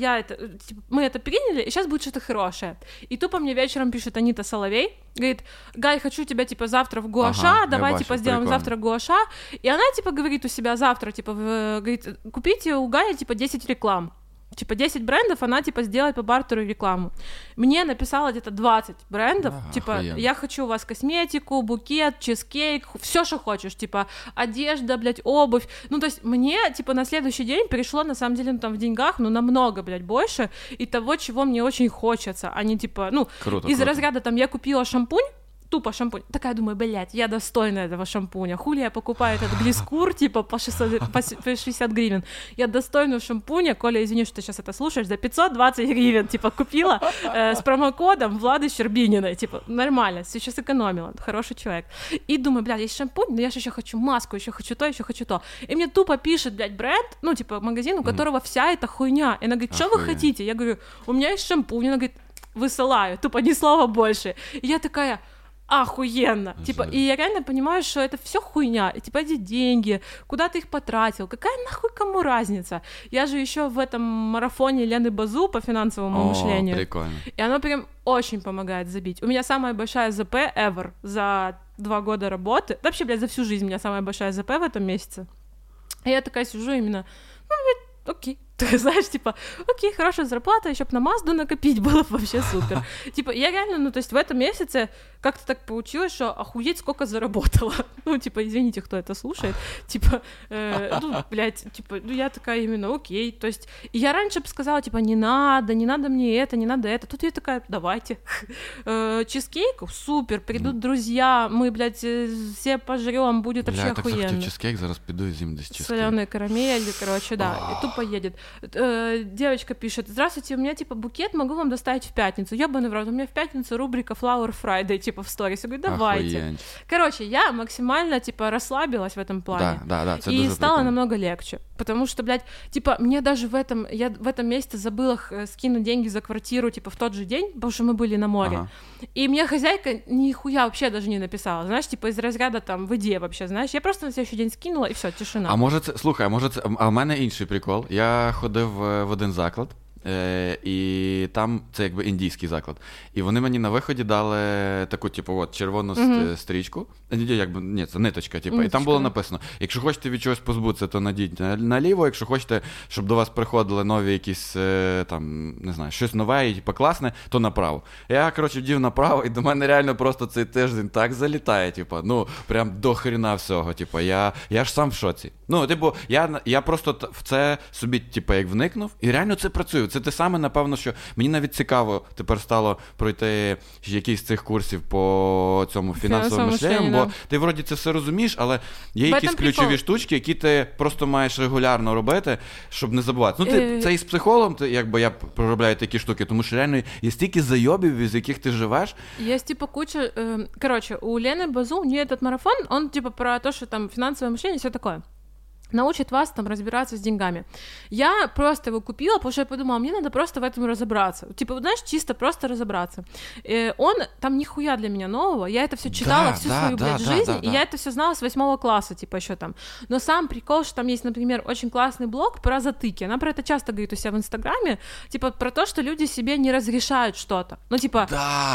мы это приняли, и сейчас будет что-то хорошее, и тупо мне вечером пишет Анита Соловей, говорит, Галь, хочу тебя, типа, завтра в Гуаша, давай, типа, сделаем завтра Гуаша, и она, типа, говорит у себя завтра, типа, говорит, купите у Гали, типа, 10 реклам, типа, 10 брендов, она, типа, сделает по бартеру рекламу. Мне написала где-то 20 брендов, типа, охуенно. Я хочу у вас косметику, букет, чизкейк, все, что хочешь, типа, одежда, блядь, обувь. Ну, то есть мне, типа, на следующий день пришло, на самом деле, ну, там, в деньгах, ну, намного, блядь, больше, и того, чего мне очень хочется, а не, типа, ну, круто, из разряда, там, я купила шампунь, тупо шампунь. Такая, думаю, блядь, я достойна этого шампуня. Хули я покупаю этот глискур, типа, по 60 гривен. Я достойна шампуня. Коля, извини, что ты сейчас это слушаешь, за 520 гривен, типа, купила с промокодом Влады Щербининой. Типа, нормально, сейчас экономила. Хороший человек. И думаю, блядь, есть шампунь, но я же еще хочу маску, еще хочу то, еще хочу то. И мне тупо пишет, блядь, бренд, ну, типа, магазин, у которого вся эта хуйня. И она говорит, что вы хотите? Я говорю, у меня есть шампунь. Она говорит, высылаю. Тупо ни слова больше. И я такая... Охуенно. Типа, и я реально понимаю, что это все хуйня. И, типа, эти деньги, куда ты их потратил? Какая нахуй кому разница? Я же еще в этом марафоне Лены Базу по финансовому мышлению. Прикольно. И оно прям очень помогает забить. У меня самая большая ЗП ever за 2 года работы. Вообще, блядь, за всю жизнь у меня самая большая ЗП в этом месяце. И я такая сижу именно, ну, блядь, окей. Ты знаешь, типа, окей, хорошая зарплата, еще бы на Мазду накопить было бы вообще супер. Типа, я реально, ну, то есть в этом месяце как-то так получилось, что охуеть сколько заработала. Ну, типа, извините, кто это слушает. Типа, ну, блядь, типа, ну, я такая именно, окей. То есть, и я раньше бы сказала, типа, не надо мне это, не надо это. Тут я такая, давайте. Чизкейк, супер, придут друзья, мы, блядь, все пожрём, будет вообще охуенно. Я так захотів чизкейк, зараз піду і з'їм десь чизкейк. Солёные карамели, короче, да, и тупо едет. Девочка пишет, здравствуйте, у меня, типа, букет, могу вам доставить в пятницу. Ёбаный в рот, у меня в пятницу рубрика Flower Friday, типа, в сторис. Я говорю, давайте. Охуеть. Короче, я максимально, типа, расслабилась в этом плане. Да, и стало намного легче. Потому что, блядь, типа, мне даже я в этом месяце забыла скинуть деньги за квартиру, типа, в тот же день, потому что мы были на море. Ага. И мне хозяйка нихуя вообще даже не написала, знаешь, типа, из разряда, там, в иде вообще, знаешь. Я просто на следующий день скинула, и все, тишина. А може це, слухай, а в мене інший прикол. Я ходив в один заклад, і там це якби індійський заклад. І вони мені на виході дали таку, типу, от, червону стрічку. Ні, це ниточка, типу. І там було написано, якщо хочете від чогось позбутися, то надіть наліво, якщо хочете, щоб до вас приходили нові якісь, там, не знаю, щось нове і, типу, класне, то направо. Я, коротше, вдів направо, і до мене реально просто цей тиждень так залітає, типу, ну, прям до хрена всього, типу, я ж сам в шоці. Ну, типу, я просто в це собі, типу, як вникнув, і реально це працює. Це те саме, напевно, що мені навіть цікаво тепер стало пройти якийсь з цих курсів по цьому фінансовому мишленню, бо ти вроді це все розумієш, але є якісь ключові штучки, які ти просто маєш регулярно робити, щоб не забувати. Ну, це і з психологом, якби я проробляю такі штуки, тому що реально є стільки зайобів, із яких ти живеш. Є, типа, куча... Короче, у Лены Базу, у нее этот марафон, он, типа, про то, что там финансовое мышление и все такое. Научит вас там разбираться с деньгами. Я просто его купила, потому что я подумала, мне надо просто в этом разобраться. Типа, знаешь, чисто просто разобраться. Он там нихуя для меня нового. Я это все читала всю свою, жизнь, и я это все знала с 8 класса, типа, еще там. Но сам прикол, что там есть, например, очень классный блог про затыки. Она про это часто говорит у себя в Инстаграме, типа, про то, что люди себе не разрешают что-то. Ну, типа,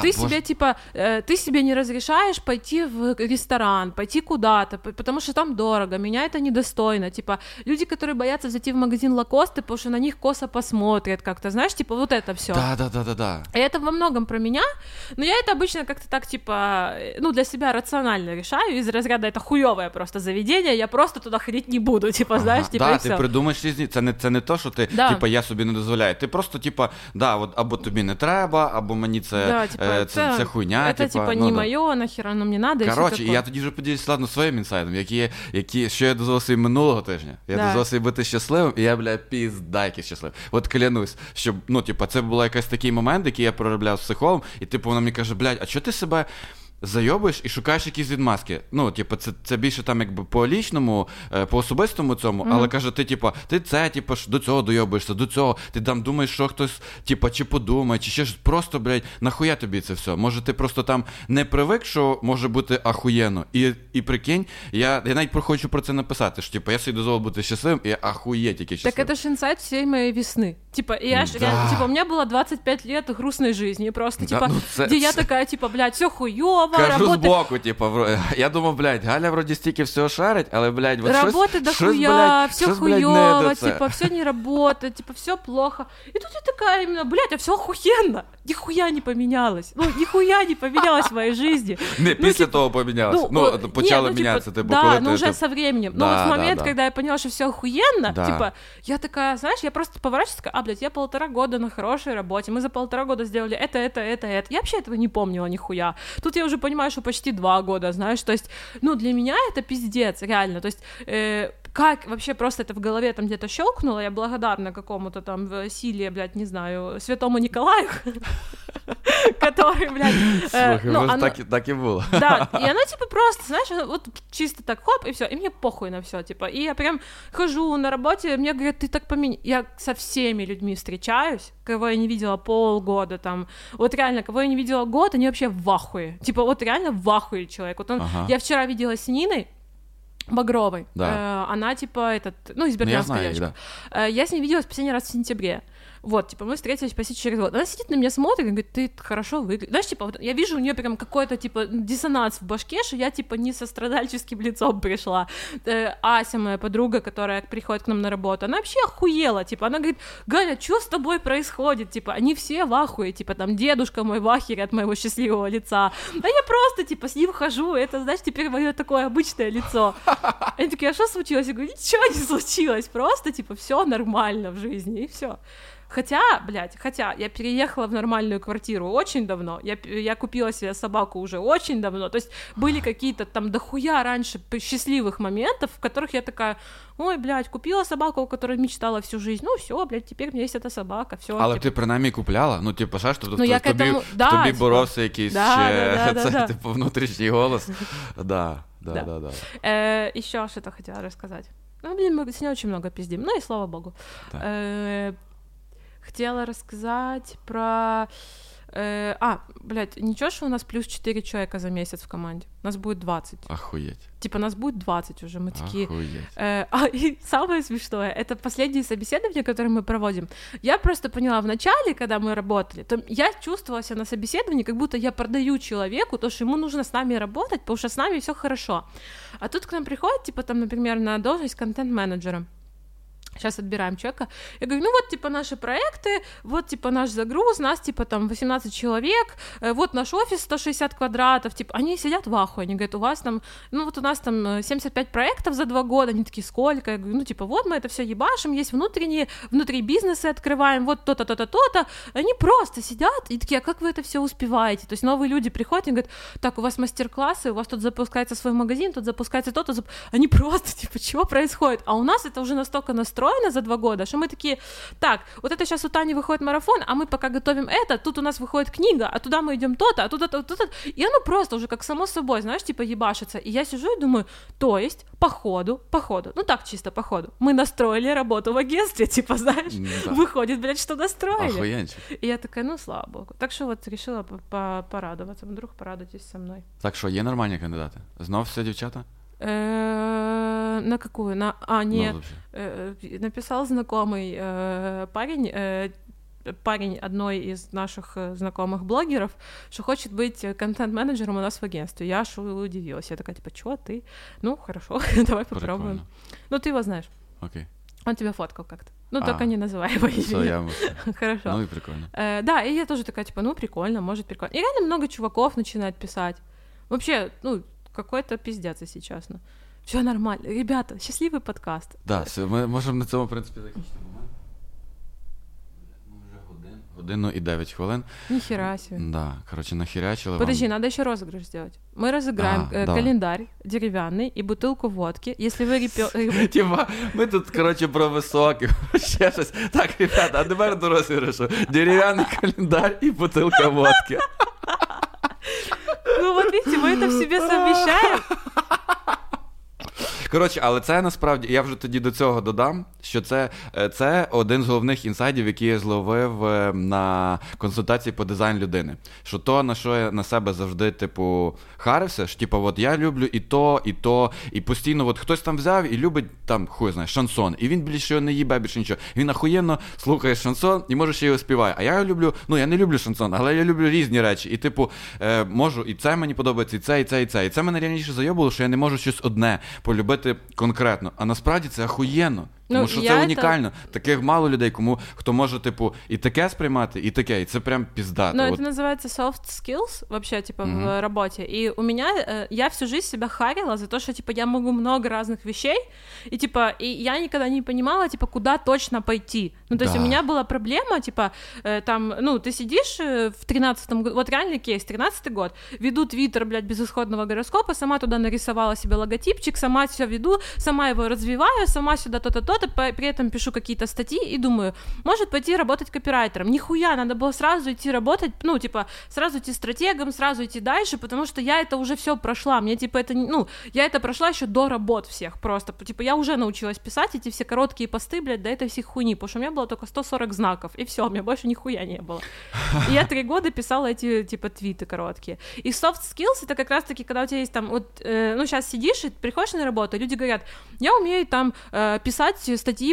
ты себе не разрешаешь пойти в ресторан, пойти куда-то, потому что там дорого, меня это недостойно. Типа, люди, которые боятся зайти в магазин Лакосты, потому что на них косо посмотрят как-то, знаешь, типа, вот это все. Да. И это во многом про меня, но я это обычно как-то так, типа, ну, для себя рационально решаю, из разряда это хуёвое просто заведение, я просто туда ходить не буду, типа, знаешь, типа, да, ти придумаєш різні, це не то, що ти, типа, я собі не дозволяю, ти просто, типа, от, або тобі не треба, або мені це хуйня, це, типа, не моє, нахера воно мені надо, коротше, і я тоді вже поділюсь, ладно, своїм інсайдом, що я дозволив собі минулого тижня. Я дозволив собі бути щасливим, і я, бля, піздайки щасливий. От клянусь, що, ну, типа, це був якийсь такий момент, який я проробляв з психологом, і, типу, вона мені каже, блядь, а чого ти себе зайобуєш і шукаєш якісь відмазки? Ну, типу, це більше там, якби, по лічному, по особистому цьому, але, каже, ти до цього дойобуєшся, до цього, ти там думаєш, що хтось, типу, чи подумає, чи ще ж просто, блядь, нахуя тобі це все? Може, ти просто там не привик, що може бути ахуєнно, і прикинь, я навіть хочу про це написати, що, типу, я собі дозволив бути щасливим, і ахуєть який щасливий. Так это ж инсайт всей моей весны. Типа, у меня было 25 лет грустной жизни, просто, типа, где я такая, типа, блядь, все хуёво, кажу збоку, типу, я думав, блядь, Галя вроді стільки всього шарить, але, блядь, вот работы дохуя, все хуёво, типа, все не работает, типа, все плохо. И тут я такая именно, блядь, а все охуенно, нихуя не поменялось, нихуя не поменялось в моей жизни. Не, після того помінялось, почало мінятися, типу, коли ти... Да, уже со временем, но вот в момент, когда я поняла, что все охуенно, типа, я такая, знаешь, я просто поворачиваюсь, такая, блядь, я 1,5 года на хорошей работе, мы за 1,5 года сделали это. Я вообще этого не помнила нихуя. Тут я уже понимаю, что почти 2 года, знаешь, то есть, ну, для меня это пиздец, реально, то есть, как вообще просто это в голове там где-то щелкнуло, я благодарна какому-то там в силе, блядь, не знаю, святому Николаю, который, блядь... Слухай, так и было. Да, и она, типа, просто, знаешь, вот чисто так, хоп, и все, и мне похуй на все, типа, и я прям хожу на работе, мне говорят, ты так поменял, я со всеми людьми встречаюсь, кого я не видела полгода, там, вот реально, кого я не видела год, они вообще в ахуе, типа, вот реально в ахуе человек, вот он, я вчера виделась с Ниной Багровой, она, типа, из Бердянска девочка, я с ней виделась последний раз в сентябре. Вот, типа, мы встретились почти через год. Она сидит на меня, смотрит и говорит, ты хорошо выглядишь. Знаешь, типа, вот я вижу у нее прям какой-то, типа, диссонанс в башке, что я, типа, не со страдальческим лицом пришла. Ася, моя подруга, которая приходит к нам на работу, она вообще охуела, типа, она говорит, Галя, что с тобой происходит? Типа, они все в ахуе, типа, там, дедушка мой в ахере от моего счастливого лица. А я просто, типа, с ним хожу, это, знаешь, теперь мое такое обычное лицо. Они такие, а что случилось? Я говорю, ничего не случилось, просто, типа, все нормально в жизни, и все. Хотя я переехала в нормальную квартиру очень давно, я купила себе собаку уже очень давно, то есть были какие-то там дохуя раньше счастливых моментов, в которых я такая, ой, блядь, купила собаку, о которой мечтала всю жизнь, ну все, блядь, теперь у меня есть эта собака, все. Але типу. ти принаймні купляла, ну типу, знаєш, тобі боровся якийсь ще, типу, внутрішній голос. Да. Еще что-то хотела рассказать. Ну, блин, мы сегодня очень много пиздим, ну и слава богу. Хотела рассказать про... ничего, что у нас плюс 4 человека за месяц в команде. Нас будет 20. Охуеть. Типа, нас будет 20 уже, мы такие... Охуеть. И самое смешное, это последние собеседования, которые мы проводим. Я просто поняла, в начале, когда мы работали, то я чувствовала себя на собеседовании, как будто я продаю человеку то, что ему нужно с нами работать, потому что с нами все хорошо. А тут к нам приходит, типа, там, например, на должность контент-менеджера. Сейчас отбираем человека. Я говорю, ну вот, типа, наши проекты, вот, типа, наш загруз, нас, типа, там, 18 человек, вот наш офис 160 квадратов, типа, они сидят в ахуе, они говорят, у вас там, ну вот у нас там 75 проектов за 2 года, они такие, сколько? Я говорю, ну, типа, вот мы это все ебашим, есть внутри бизнесы открываем, вот то-то, то-то, то-то, они просто сидят и такие, а как вы это все успеваете? То есть новые люди приходят и говорят, так, у вас мастер-классы, у вас тут запускается свой магазин, тут запускается то-то, они просто, типа, чего происходит? А у нас это уже настолько настроено за 2 года, что мы такие, так, вот это сейчас у Тани выходит марафон, а мы пока готовим это, тут у нас выходит книга, а туда мы идем то-то, а туда то-то, и оно просто уже как само собой, знаешь, типа ебашится, и я сижу и думаю, то есть, по ходу, ну так чисто по ходу, мы настроили работу в агентстве, типа, знаешь, выходит, блядь, что настроили. Охуенчик. И я такая, ну, слава богу. Так що от решила порадуватися, вдруг порадуйтесь со мною. Так що, є нормальні кандидати? Знов все дівчата? На какую? Нет. Написал знакомый парень одной из наших знакомых блогеров, что хочет быть контент-менеджером у нас в агентстве. Я аж удивилась. Я такая, типа, чё, ты? Ну, хорошо, давай попробуем. Ну, ты его знаешь. Окей. Он тебя фоткал как-то. Ну, только не называй его имя. Хорошо. Ну и прикольно. Да, и я тоже такая, типа, ну, прикольно, может, прикольно. И реально много чуваков начинает писать. Вообще, ну, какой-то пиздец, если честно. Все нормально. Ребята, счастливый подкаст. Да, ми можемо на цьому, в принципі, закінчити момент. Ми вже годину і 9 хвилин. Нихера себе. Да, короче, нахерячили. Подожди, надо еще розыгрыш сделать. Мы разыграем календарь деревянный и бутылку водки. Если вы Типа, ми тут, короче, про високих, ще щось. Так, ребята, а тепер до розіграшу. Дерев'яний календар і бутилка водки. Ну, вот видите, мы это в себе совмещаем. Коротше, але це насправді, я вже тоді до цього додам, що це один з головних інсайдів, який я зловив на консультації по дизайн людини. Що то, на що я на себе завжди, типу, харився, що, типу, от я люблю і то, і постійно, от хтось там взяв і любить, там, хуй знає, шансон, і він більше його не їбе, більше нічого. Він охуєнно слухає шансон і може ще його співає. А я люблю, ну, я не люблю шансон, але я люблю різні речі. І, типу, можу, і це мені подобається, і це, і це, і це. І це мене раніше зайобило, що я не можу щось одне полюбити конкретно, а насправді це охуєнно. Тому що це унікально. Таких мало людей, хто може, типу, і таке сприймати, і таке, і це прям пиздато. Ну, это называется soft skills, вообще, типа, в работе. И у меня, я всю жизнь себя харила за то, что, типа, я могу много разных вещей, и, типа, и я никогда не понимала, типа, куда точно пойти. Ну, то есть у меня была проблема, типа, там, ну, ты сидишь в 13-м году, вот реальный кейс, 13-й год, веду твиттер, блядь, безысходного гороскопа, сама туда нарисовала себе логотипчик, сама все веду, сама его развиваю, сама сюда то-то, при этом пишу какие-то статьи и думаю, может пойти работать копирайтером. Нихуя, надо было сразу идти работать, ну, типа, сразу идти стратегом, сразу идти дальше, потому что я это уже все прошла. Мне, типа, это, ну, я это прошла еще до работ всех просто. Типа, я уже научилась писать эти все короткие посты, блядь, до этой всей хуйни, потому что у меня было только 140 знаков, и все, у меня больше нихуя не было. И я 3 года писала эти, типа, твиты короткие. И soft skills — это как раз-таки, когда у тебя есть там, вот, ну, сейчас сидишь и приходишь на работу, люди говорят, я умею там писать статьи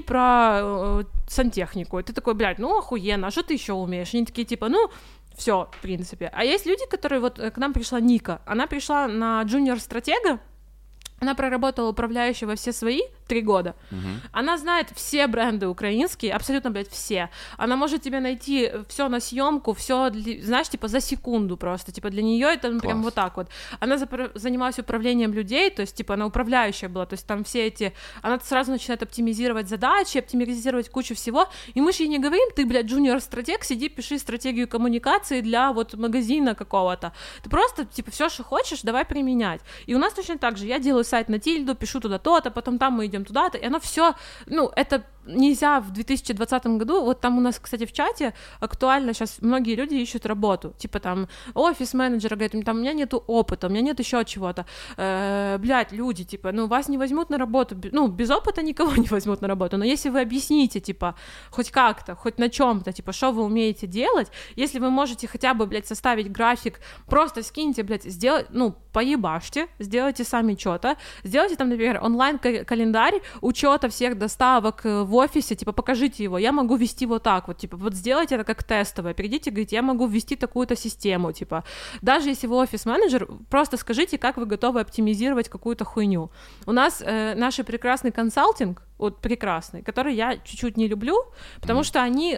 про сантехнику. И ты такой, блядь, ну охуенно, а что ты еще умеешь? Они такие, типа, ну, все, в принципе. А есть люди, которые, вот к нам пришла Ника, она пришла на джуниор-стратега, она проработала управляющей во все свои 3 года. Она знает все бренды украинские, абсолютно, блядь, все. Она может тебе найти все на съемку, все, знаешь, типа за секунду просто. Типа для нее это ну, прям вот так вот. Она занималась управлением людей, то есть, типа, она управляющая была, то есть там все эти... Она сразу начинает оптимизировать задачи, оптимизировать кучу всего, и мы же ей не говорим, ты, блядь, джуниор-стратег, сиди, пиши стратегию коммуникации для вот магазина какого-то. Ты просто, типа, все, что хочешь, давай применять. И у нас точно так же. Я делаю сайт на Тильду, пишу туда то-то, потом там мы идем туда-то, и оно все, ну, это нельзя в 2020 году, вот там у нас, кстати, в чате актуально сейчас многие люди ищут работу, типа там офис-менеджера, говорит, там у меня нету опыта, у меня нет еще чего-то, блядь, люди, типа, ну, вас не возьмут на работу, ну, без опыта никого не возьмут на работу, но если вы объясните, типа, хоть как-то, хоть на чем-то, типа, что вы умеете делать, если вы можете хотя бы, блядь, составить график, просто скиньте, блядь, сделать, ну, поебашьте, сделайте сами что-то, сделайте там, например, онлайн-календарь учета всех доставок в в офисе, типа, покажите его, я могу ввести вот так вот, типа, вот сделайте это как тестовое, придите, говорите, я могу ввести такую-то систему, типа, даже если вы офис-менеджер, просто скажите, как вы готовы оптимизировать какую-то хуйню. У нас наш прекрасный консалтинг, вот прекрасный, который я чуть-чуть не люблю, потому что они,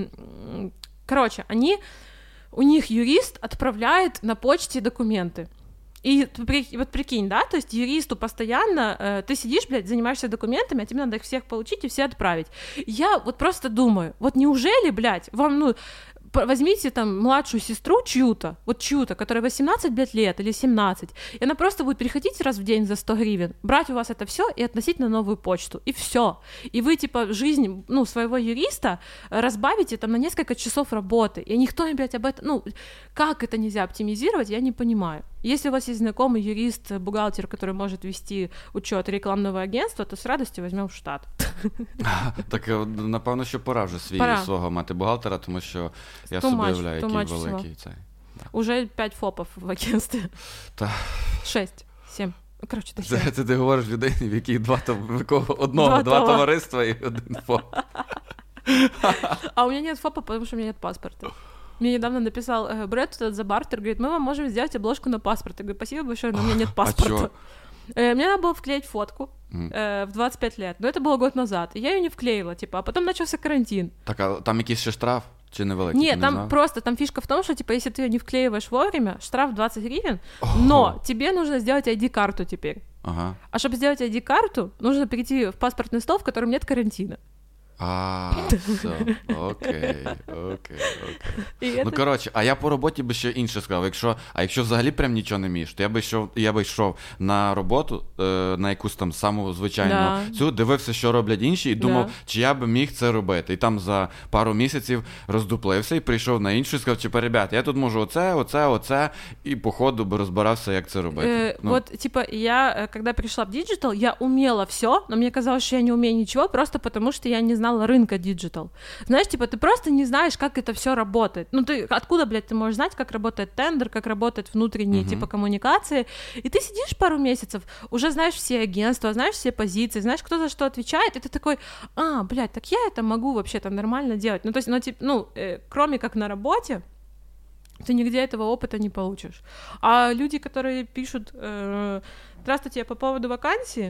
у них юрист отправляет на почте документы. И вот прикинь, да, то есть юристу постоянно, ты сидишь, блядь, занимаешься документами, а тебе надо их всех получить и все отправить. Я вот просто думаю, вот неужели, блядь, вам, возьмите там младшую сестру чью-то, которая 18, блядь, лет или 17, и она просто будет приходить раз в день за 100 гривен, брать у вас это все и относить на новую почту, и все. И вы, типа, жизнь, своего юриста разбавите там на несколько часов работы, и никто, блядь, об этом, как это нельзя оптимизировать, я не понимаю. Если у вас есть знакомый юрист, бухгалтер, который может вести учет рекламного агентства, то з радістю візьмемо в штат. Так, напевно, що пора вже свого мати бухгалтера, тому що я собі уявляю, який великий цей. Уже 5 ФОПів в агентстві. 6, 7. Короче, це ти говориш людині, в якій два товариства і один ФОП. А у меня нет ФОПа, потому что у меня нет паспорта. Мне недавно написал Брэд за бартер, говорит, мы вам можем сделать обложку на паспорт. Я говорю, спасибо большое, но у меня нет паспорта. Мне надо было вклеить фотку в 25 лет, но это было год назад, и я ее не вклеила, типа, а потом начался карантин. Так, а там якийсь ще штраф? Чи невеликий? Нет, там просто, там фишка в том, что, типа, если ты ее не вклеиваешь вовремя, штраф 20 гривен, но тебе нужно сделать ID-карту теперь. Ага. А чтобы сделать ID-карту, нужно перейти в паспортный стол, в котором нет карантина. Все, окей. Коротше, а я по роботі би ще інше сказав. Якщо взагалі прям нічого не вмієш, то я би йшов на роботу, на якусь там саму звичайну цю, дивився, що роблять інші, і думав, чи я би міг це робити. І там за пару місяців роздуплився і прийшов на іншу і сказав, типа, ребят, я тут можу оце, і по ходу би розбирався, як це робити. Вот, типа, я, когда пришла в диджитал, я умела все, но мне казалось, что я не умею ничего, просто потому что я не знала рынка диджитал. Знаешь, типа, ты просто не знаешь, как это все работает. Откуда, блядь, ты можешь знать, как работает тендер, как работают внутренние, типа, коммуникации, и ты сидишь пару месяцев, уже знаешь все агентства, знаешь все позиции, знаешь, кто за что отвечает, и ты такой, блядь, так я это могу вообще-то нормально делать. То есть, кроме как на работе, ты нигде этого опыта не получишь. А люди, которые пишут, здравствуйте, я по поводу вакансии,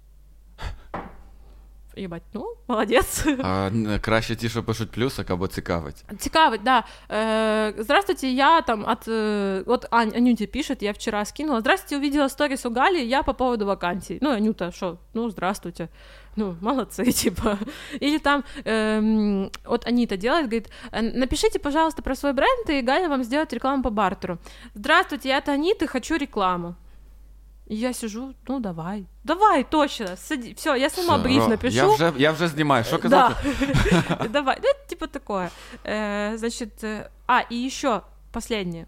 ебать, молодец. Краще ті, що пишуть плюсик або цікавить. Цікавить, да. Здравствуйте, я там вот Анюте пишет, я вчера скинула. Здравствуйте, увидела сторис у Гали, я по поводу вакансий. Анюта, что? Здравствуйте. Молодцы, типа. Или там, вот Анита делает, говорит, напишите, пожалуйста, про свой бренд, и Галя вам сделает рекламу по бартеру. Здравствуйте, я Анита, хочу рекламу. И я сижу, давай, точно, сади, все, я сама бриф напишу. Я вже знімаю, що казати? Да. Давай, типа такое. Значит, и еще последнее.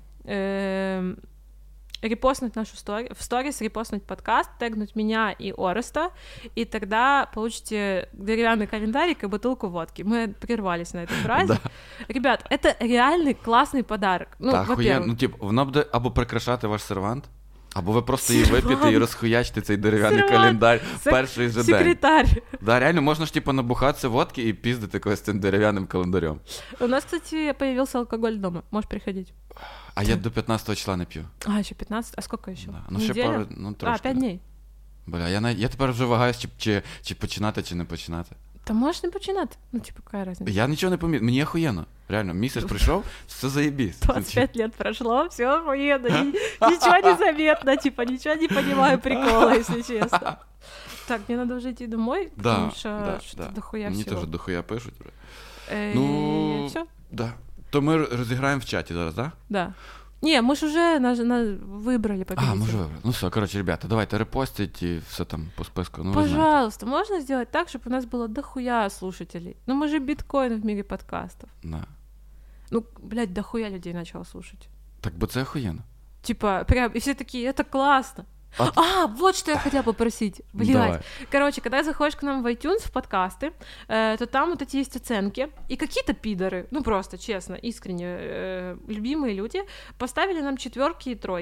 Репостнуть нашу в сторис, репостнуть подкаст, тегнуть меня и Ореста, и тогда получите деревянный календарик и бутылку водки. Мы прервались на эту фразу. Да. Ребят, это реальный классный подарок. Во-первых. Воно буде або прикрашати ваш сервант, або ви просто її вип'єте і розхуячите цей дерев'яний календар перший же день. Секретарь. Да, реально, можна ж набухатися водки і піздити когось цим дерев'яним календарем. У нас, кстати, появился алкоголь дома. Можешь приходить. А я до 15 числа не п'ю. Еще 15? А сколько еще? Да. Ще пару, трошки. 5 дней. Бля, я тепер вже вагаюсь, чи починати, чи не починати. Та можеш не починати. Какая разница? Я нічого не помітив, мені охуєнно. Реально, місяць прийшов, все заєбісь. 25 лет прошло, все охуенно, ничего не заметно, типа, ничего не понимаю прикола, если честно. Так, мне надо уже идти домой, потому что что-то дохуя всего. Мені теж дохуя пишуть. Все? Да. То ми розіграємо в чаті зараз, да? Да. Не, мы же уже выбрали победителя. Мы уже выбрали. Все, короче, ребята, давайте репостить и все там по списку. Пожалуйста, можно сделать так, чтобы у нас было дохуя слушателей? Мы же биткоин в мире подкастов. Да. Блядь, дохуя людей начало слушать. Так бы це охуенно. Типа, прям, и все такие, это классно. Вот что я хотела попросить. Блядь. Давай. Короче, когда заходишь к нам в iTunes, в подкасты, то там вот эти есть оценки, и какие-то пидоры, просто честно, искренне, любимые люди, поставили нам 4 и 3,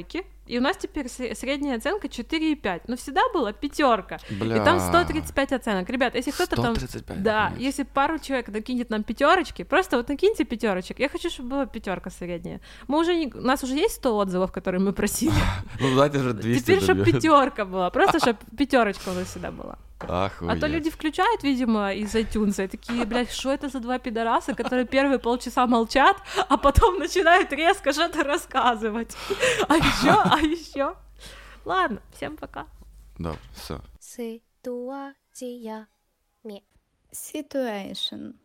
И у нас теперь средняя оценка 4,5. Но всегда была 5. Бля. И там 135 оценок. Ребят, если кто-то 135, там... Да, охренеть. если пару человек накинет нам 5, просто вот накиньте 5. Я хочу, чтобы была 5 средняя. Мы уже у нас уже есть 100 отзывов, которые мы просили. Ну, давайте вже 200 Теперь, чтобы доб'ємо. 5 была. Просто, чтобы 5 у нас всегда была. Ахуєть. А то люди включают, видимо, из iTunes и такие, блядь, что это за 2 пидораса, которые первые полчаса молчат, а потом начинают резко что-то рассказывать. А еще. Ладно, всем пока. Добре, все. Ситуація. Situation.